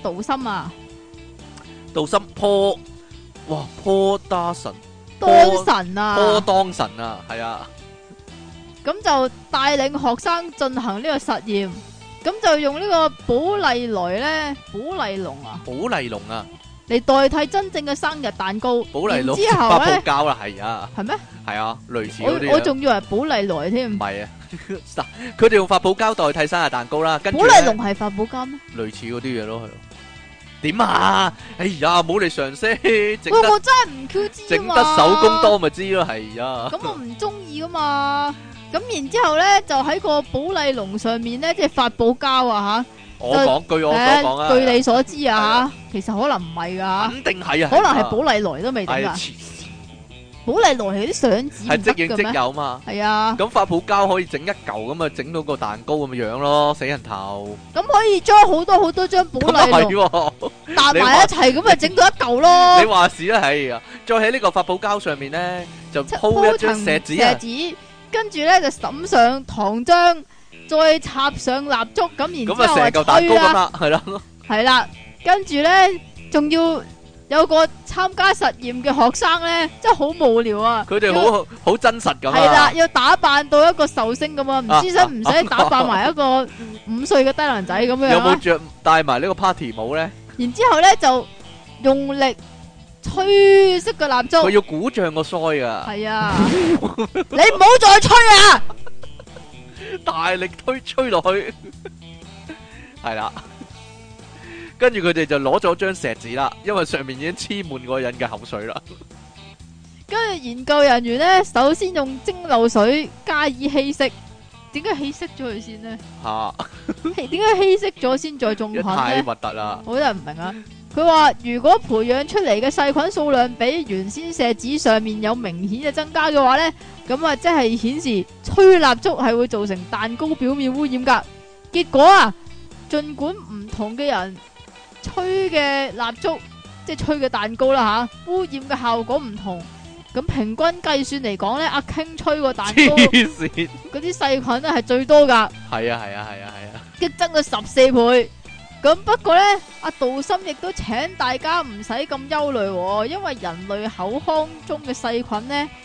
[SPEAKER 2] 當神啊，係啊。咁就帶領學生進行呢個實驗，咁就用呢個寶麗龍啊。嚟代替真正嘅生日蛋糕，然之後咧，
[SPEAKER 1] 膠啦，係啊，
[SPEAKER 2] 係咩？
[SPEAKER 1] 係啊，類似嗰啲。
[SPEAKER 2] 我仲以為寶麗來添。
[SPEAKER 1] 唔係啊，佢哋用發泡膠代替生日蛋糕啦。寶
[SPEAKER 2] 麗龍係發泡膠咩？
[SPEAKER 1] 類似嗰啲嘢咯，係咯。點啊？哎呀，冇嚟嘗試。
[SPEAKER 2] 我真係唔 Q 知啊嘛。
[SPEAKER 1] 整得手工多咪知咯，係啊。
[SPEAKER 2] 咁我唔中意噶嘛。咁然之後咧，就喺個寶麗龍上面咧，即係發泡膠啊吓。
[SPEAKER 1] 據我所講啊，
[SPEAKER 2] 據你所知啊，其實可能唔係噶，
[SPEAKER 1] 肯定係啊，
[SPEAKER 2] 可能係寶麗來都未定噶。寶麗來係啲相紙
[SPEAKER 1] 係即影即有嘛，
[SPEAKER 2] 係啊。
[SPEAKER 1] 咁發泡膠可以整一嚿咁啊，整到個蛋糕咁嘅樣咯，死人頭。
[SPEAKER 2] 咁可以將好多張寶麗龍搭埋一齊，咁啊整到一嚿咯。
[SPEAKER 1] 你話事啦，係啊。再喺呢個發泡膠上面咧，就鋪一張錫紙，
[SPEAKER 2] 跟住咧就抌上糖漿。再插上蠟燭，咁然之後
[SPEAKER 1] 成嚿蛋糕咁啦，係啦，
[SPEAKER 2] 係啦，跟住咧仲要有個參加實驗嘅學生咧，真係好無聊啊！
[SPEAKER 1] 佢哋好真實咁，
[SPEAKER 2] 係啦，要打扮到一個壽星咁啊，唔知使唔使打扮埋一個5歲嘅低能仔咁樣？
[SPEAKER 1] 有冇着戴埋呢個 party 帽咧？
[SPEAKER 2] 然之後咧就用力吹熄個蠟燭，
[SPEAKER 1] 佢要鼓脹個腮啊！
[SPEAKER 2] 係啊，你唔好再吹啊！
[SPEAKER 1] 大力吹落去，係啦，跟住佢哋就攞咗張錫紙啦，因為上面已經黐滿嗰個人嘅口水啦。
[SPEAKER 2] 跟住研究人員咧，首先用蒸餾水加以稀釋，點解稀釋咗佢先呢？吓，點解稀釋咗先再種菌咧？
[SPEAKER 1] 太核突啦！
[SPEAKER 2] 好多人唔明啊。佢話如果培養出嚟嘅細菌數量比原先錫紙上面有明顯嘅增加嘅話呢，咁啊即係顯示吹蠟燭係會造成蛋糕表面污染噶。結果啊，盡管唔同嘅人吹嘅蠟燭，即係吹嘅蛋糕啦吓，污染嘅效果唔同，咁平均計算嚟講呢，阿 King 吹個蛋糕嗰啲細菌咧係最多噶。係啊，激增咗14倍。咁不過咧，阿杜森亦都請大家唔使咁憂慮，因為人類口腔中嘅細菌咧，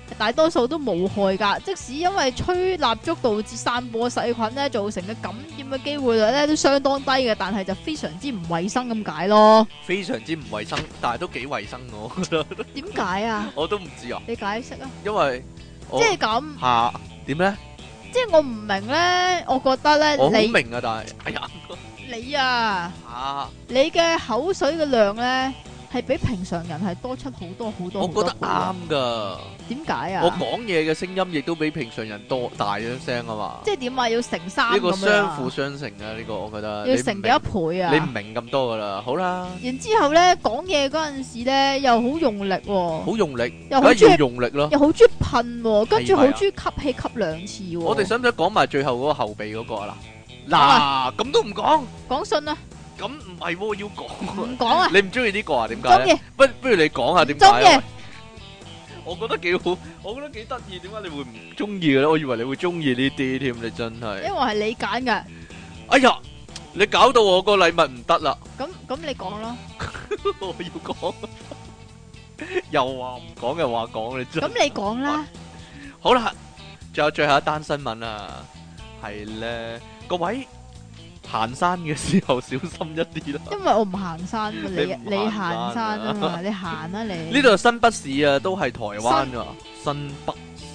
[SPEAKER 2] 大多數都無害噶。即使因為吹蠟燭導致散播細菌咧，造成嘅感染嘅機會率咧都相當低嘅，但係就非常之唔衛生咁解咯。
[SPEAKER 1] 非常之唔衛生，但係都幾衛生我覺得。
[SPEAKER 2] 點解啊？
[SPEAKER 1] 我都唔知啊。
[SPEAKER 2] 你解釋啊？
[SPEAKER 1] 因為
[SPEAKER 2] 即係咁
[SPEAKER 1] 吓點咧？
[SPEAKER 2] 即係我唔明咧，我覺得咧，
[SPEAKER 1] 我好明啊，但係哎呀，
[SPEAKER 2] 你啊，你嘅口水嘅量咧係比平常人係多出好多好多。
[SPEAKER 1] 我覺得啱噶。
[SPEAKER 2] 點解啊？
[SPEAKER 1] 我講嘢嘅聲音亦都比平常人多大咗聲啊嘛。
[SPEAKER 2] 即係點啊？要乘3
[SPEAKER 1] 呢個相輔相成啊！呢個我覺得
[SPEAKER 2] 要乘幾多倍啊？
[SPEAKER 1] 你唔明咁多噶啦，好啦。
[SPEAKER 2] 然之後咧講嘢嗰陣時咧又好用力，
[SPEAKER 1] 好用力，
[SPEAKER 2] 又好中意
[SPEAKER 1] 用力咯，
[SPEAKER 2] 又好中意噴，跟住好中意吸氣吸2次。
[SPEAKER 1] 我哋使唔使講埋最後嗰個後備嗰個啊？嗱，咁都唔講，
[SPEAKER 2] 講信啊？
[SPEAKER 1] 咁唔係喎，要講。
[SPEAKER 2] 唔講啊？
[SPEAKER 1] 你唔中意呢個啊？點解咧？不如你講下點解？
[SPEAKER 2] 中意。
[SPEAKER 1] 我覺得幾好，我覺得幾得意。點解你會唔中意嘅咧？我以為你會中意呢啲添，你真係。
[SPEAKER 2] 因為係你揀嘅。
[SPEAKER 1] 哎呀，你搞到我個禮物唔得啦。
[SPEAKER 2] 咁你講咯。
[SPEAKER 1] 我要講，又話唔講又話講，你真。
[SPEAKER 2] 咁你講啦。
[SPEAKER 1] 好啦，仲有最後一單新聞啊，係咧，各位行山嘅時候小心一啲啦。因為我唔行山，你行山啊嘛，你行啊你。呢度新北市啊，都係台灣噶。新北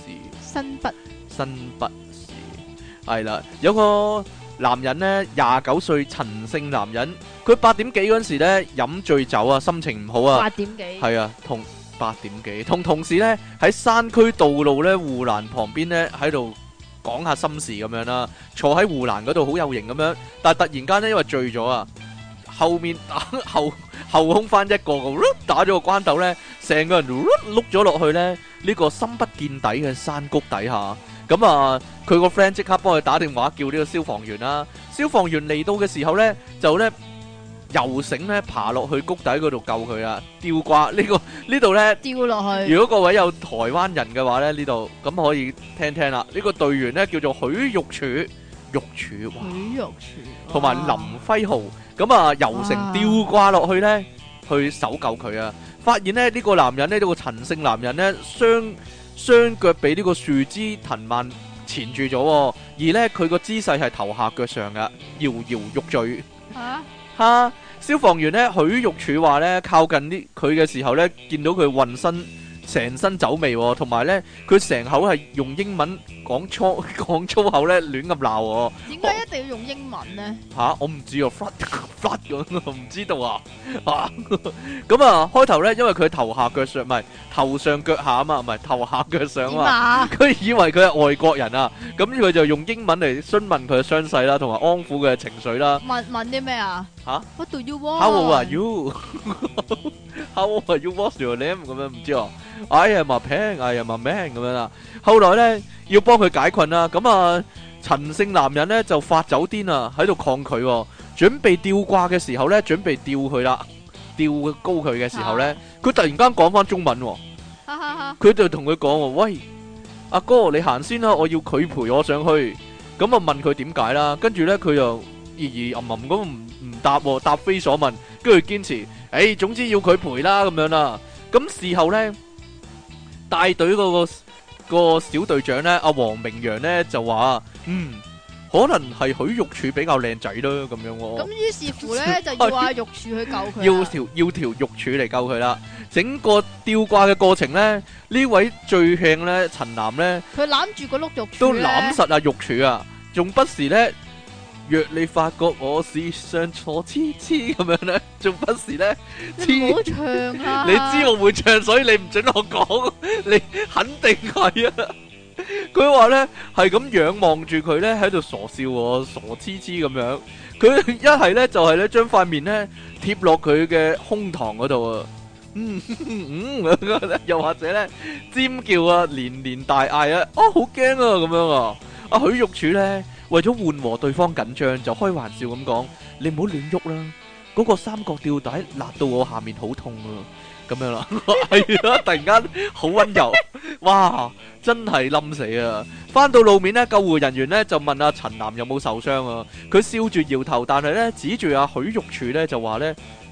[SPEAKER 1] 市係啦，有個男人咧，29歲陳姓男人，佢8點幾嗰陣時咧飲醉酒啊，心情唔好啊。8點幾？係啊，同8點幾，同同事咧喺山區道路咧護欄旁邊咧喺度講下心事咁樣啦，坐喺護欄嗰度好有型咁樣，但係突然間咧因為醉咗啊，後面後空翻一個打咗個關斗咧，成個人碌咗落去咧呢個深不見底嘅山谷底下。咁啊，佢個 friend 即刻幫佢打電話叫呢個消防員啦。消防員嚟到嘅時候咧，就咧游繩咧爬落去谷底嗰度救佢啊！吊掛呢度咧吊落去。如果各位有台灣人嘅話咧，呢度咁可以聽聽啦。呢個隊員咧叫做許玉柱，同埋林輝豪。咁啊，游繩吊掛落去咧，去搜救佢啊！發現咧呢個男人咧，呢個陳姓男人咧，雙腳俾呢個樹枝藤蔓纏住咗，而咧佢個姿勢係頭下腳上噶，搖搖欲墜。吓！消防員咧許玉柱話咧，靠近啲佢嘅時候咧，見到佢渾身成身酒味，同埋咧佢成口係用英文講粗口咧，亂咁鬧。點解一定要用英文呢？吓，我唔知啊 ，flat 咁，我唔知道啊。咁啊，開頭咧，因為佢頭下腳上，唔係頭上腳下啊嘛，唔係頭下腳上啊嘛，佢以為佢係外國人啊，咁佢就用英文嚟詢問佢嘅傷勢啦，同埋安撫佢嘅情緒啦。問啲咩啊？吓 ？What do you want? How old are you? How old are you? What's your name? 咁樣唔知啊。I am a pen, I am a man 咁樣啦。後來咧要幫佢解困啦，咁啊陳姓男人咧就發酒癲啊，喺度抗拒，準備吊掛嘅時候咧，準備吊佢啦，吊高佢嘅時候咧，佢突然間講翻中文，佢就同佢講：喂，阿哥你行先啦，我要佢陪我上去。咁啊問佢點解啦，跟住咧佢又吟吟咁唔答，答非所問，跟住堅持，總之要佢陪啦咁樣啦。咁事後咧。帶隊嗰個小隊長咧，阿黃明陽咧就話：可能係許玉柱比較靚仔啦，咁樣。咁於是乎咧，就要阿玉柱去救佢。要條玉柱嚟救佢啦。整個吊掛嘅過程咧，呢位最慶咧陳男咧，佢攬住個碌玉柱都攬實阿玉柱啊，仲不時咧。若你發覺我是上錯痴痴咁樣咧，仲不時咧，你唔好唱啦！你知我會唱，所以你唔准我講，你肯定係啊！佢話咧係咁仰望住佢咧，喺度傻笑，傻痴痴咁樣。佢一係咧就係咧將塊面咧貼落佢嘅胸膛嗰度啊，又或者咧尖叫啊，連連大嗌啊，好驚啊咁樣啊！阿許玉柱咧。為咗緩和對方緊張，就開玩笑咁講：你唔好亂喐啦，嗰個三角吊帶勒到我下面好痛啊！咁樣啦，係啊，突然間好溫柔，哇，真係冧死啊！翻到路面咧，救護人員咧就問阿陳男有冇受傷啊？佢笑住搖頭，但係咧指住阿許玉柱咧就話咧：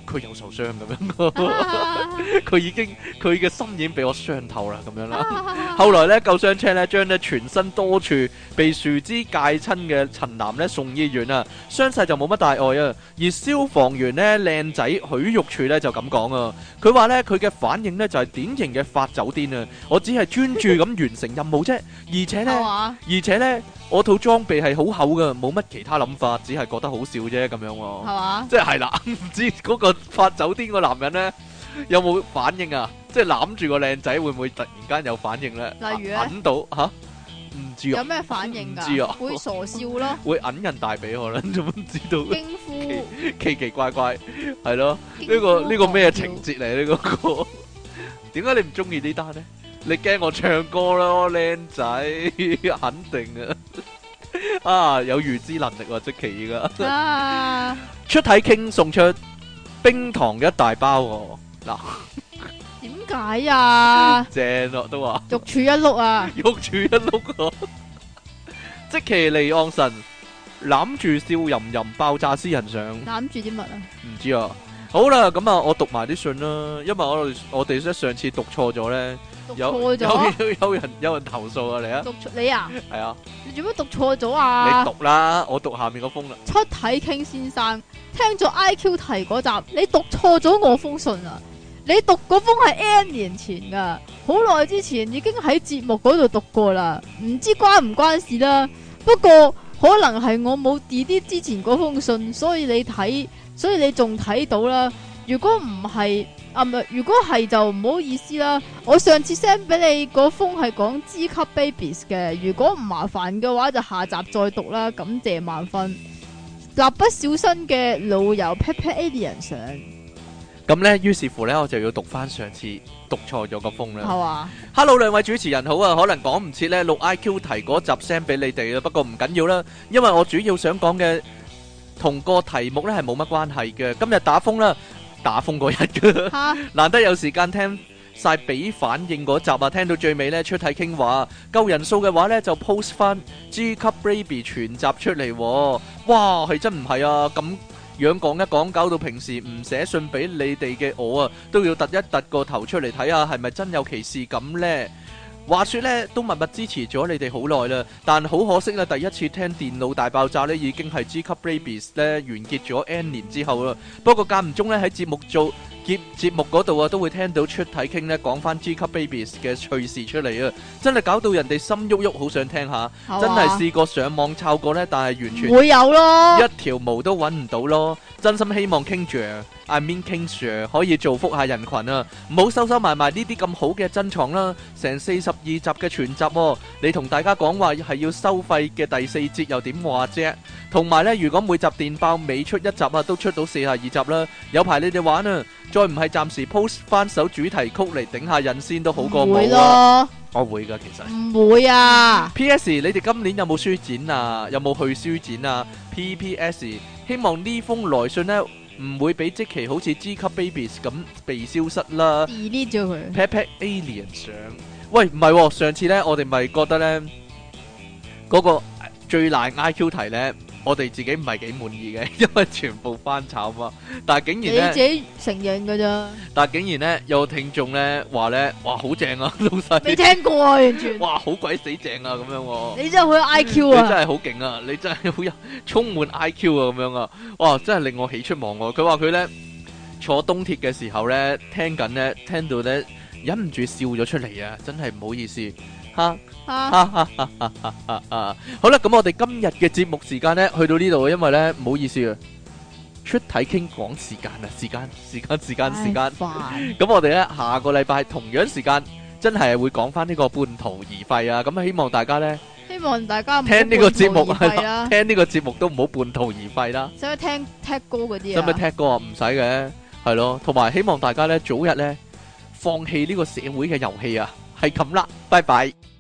[SPEAKER 1] 佢有受傷咁樣，佢嘅心已經俾我傷透啦咁樣啦。後來咧救傷車咧將咧全身多處被樹枝界親嘅陳男咧送醫院啊，傷勢就冇乜大礙啊。而消防員咧靚仔許玉柱咧就咁講啊，佢話咧佢嘅反應咧就係典型嘅發酒癲啊，我只係專注咁完成任務啫，而且咧我套裝備係好厚噶，冇乜其他諗法，只係覺得好笑啫咁樣喎，係
[SPEAKER 2] 嘛？
[SPEAKER 1] 即係啦，唔知嗰個發酒癲個男人咧有冇反應啊？即係攬住個靚仔會唔會突然間有反應咧？
[SPEAKER 2] 例如咧，
[SPEAKER 1] 揞到吓，唔知啊？
[SPEAKER 2] 有咩反應㗎？
[SPEAKER 1] 唔知啊？
[SPEAKER 2] 會傻笑咯，
[SPEAKER 1] 會揞人大髀可能，點知道？
[SPEAKER 2] 驚呼，
[SPEAKER 1] 奇怪怪，係咯？呢個咩情節嚟？呢個點解你唔中意呢單咧？你驚我唱歌咯，靚仔，肯定啊！啊，有預知能力喎，積淇㗎。出體 king 送出冰糖一大包喎，嗱，
[SPEAKER 2] 點解啊？
[SPEAKER 1] 正咯，都話
[SPEAKER 2] 玉柱一碌啊，
[SPEAKER 1] 玉柱一碌啊！積淇離岸神攬住笑吟吟爆炸私人相，
[SPEAKER 2] 攬住啲乜啊？
[SPEAKER 1] 唔知啊。好啦，咁啊，我讀埋啲信啦，因為我哋上次讀錯咗咧，有人投訴啊，你啊，
[SPEAKER 2] 你啊，
[SPEAKER 1] 係啊，
[SPEAKER 2] 你做乜讀錯咗啊？
[SPEAKER 1] 你讀啦，我讀下面個封啦。
[SPEAKER 2] 出體 king 先生，聽咗 IQ 題嗰集，你讀錯咗我封信啊！你讀嗰封係 N 年前噶，好耐之前已經喺節目嗰度讀過啦，唔知關唔關事啦。不過可能係我冇 delete 之前嗰封信，所以你仲睇到啦。如果唔係如果係就唔好意思啦。我上次 send 俾你嗰封係講 G 級 babies 嘅，如果唔麻煩嘅話就下集再讀啦。感謝萬分。蠟筆小新嘅老友 Pepper Alien 上。
[SPEAKER 1] 咁呢，於是乎呢，我就要讀翻上次讀錯咗個封啦。
[SPEAKER 2] 係嘛
[SPEAKER 1] ？Hello，兩位主持人好啊，可能講唔切呢錄 IQ 題嗰集 send 俾你哋啦，不過唔緊要啦，因為我主要想講嘅同個題目呢係冇乜關係嘅。今日打風啦，打風嗰日嘅，難得有時間聽晒俾反應嗰集啊，聽到最尾呢，出體傾話夠人數嘅話呢，就 post 翻 G 級 baby 全集出嚟。哇，係真唔係啊？咁樣講一講，搞到平時唔寫信俾你哋嘅我啊，都要突一突個頭出嚟睇下係咪真有其事咁呢？話說呢，都默默支持咗你哋好耐啦，但好可惜啦，第一次聽電腦大爆炸呢，已經係 G 級 babies 呢完結咗 N 年之後啦。不過間唔中呢，喺節目嗰度啊，都會聽到出體傾呢講翻 G 級 babies 嘅趣事出嚟啊，真係搞到人哋心喐喐，好想聽下。真係試過上網抄過呢，但係完全
[SPEAKER 2] 會有咯，
[SPEAKER 1] 一條毛都揾唔到咯。真心希望 King Sir，I mean King Sir 可以造福下人群啊，唔好收埋呢啲咁好嘅珍藏啦。成42集嘅全集，你同大家講話係要收費嘅第4節又點話啫？同埋呢，如果每集電爆每出一集啊，都出到42集啦，有排你哋玩啊！再唔係暫時 post 翻首主題曲嚟頂下癮先都好過冇啊！我會噶，其實
[SPEAKER 2] 唔會啊。
[SPEAKER 1] P.S. 你哋今年有冇書展啊？有冇去書展啊 ？P.P.S. 希望呢封來信呢唔會俾積淇好似 G 級 babies 咁被消失啦。
[SPEAKER 2] delete 咗佢。
[SPEAKER 1] Pet alien 相，喂唔係喎，上次呢我哋咪覺得呢嗰個最難 IQ 題呢。我哋自己唔係幾滿意嘅，因為全部翻炒嘛。但係竟然咧，
[SPEAKER 2] 你自己承認㗎咋？
[SPEAKER 1] 但係竟然咧，有聽眾咧話咧，哇好正啊，老細！
[SPEAKER 2] 未聽過啊，完全。
[SPEAKER 1] 哇，好鬼死正啊，咁樣喎！
[SPEAKER 2] 你真係好有 IQ 啊！
[SPEAKER 1] 你真係好勁啊！你真係好有充滿 IQ 啊，咁樣啊！哇，真係令我喜出望外。佢話佢咧坐東鐵嘅時候咧，聽到咧忍唔住笑咗出嚟啊！真係唔好意思。好啦，咁我哋今日嘅節目時間呢，去到呢度，因為呢，唔好意思啊，出體傾講時間啊，時間，咁我哋呢，下個禮拜同樣時間真係會講翻呢個半途而廢啊，咁希望大家呢，聽呢個節目係聽呢個節目都唔好半途而廢啦。
[SPEAKER 2] 使唔使聽踢歌嗰啲啊？
[SPEAKER 1] 使唔使踢歌啊？唔使嘅，係咯，同埋希望大家呢，早日呢，放棄呢個社會嘅遊戲啊！係咁啦，拜拜。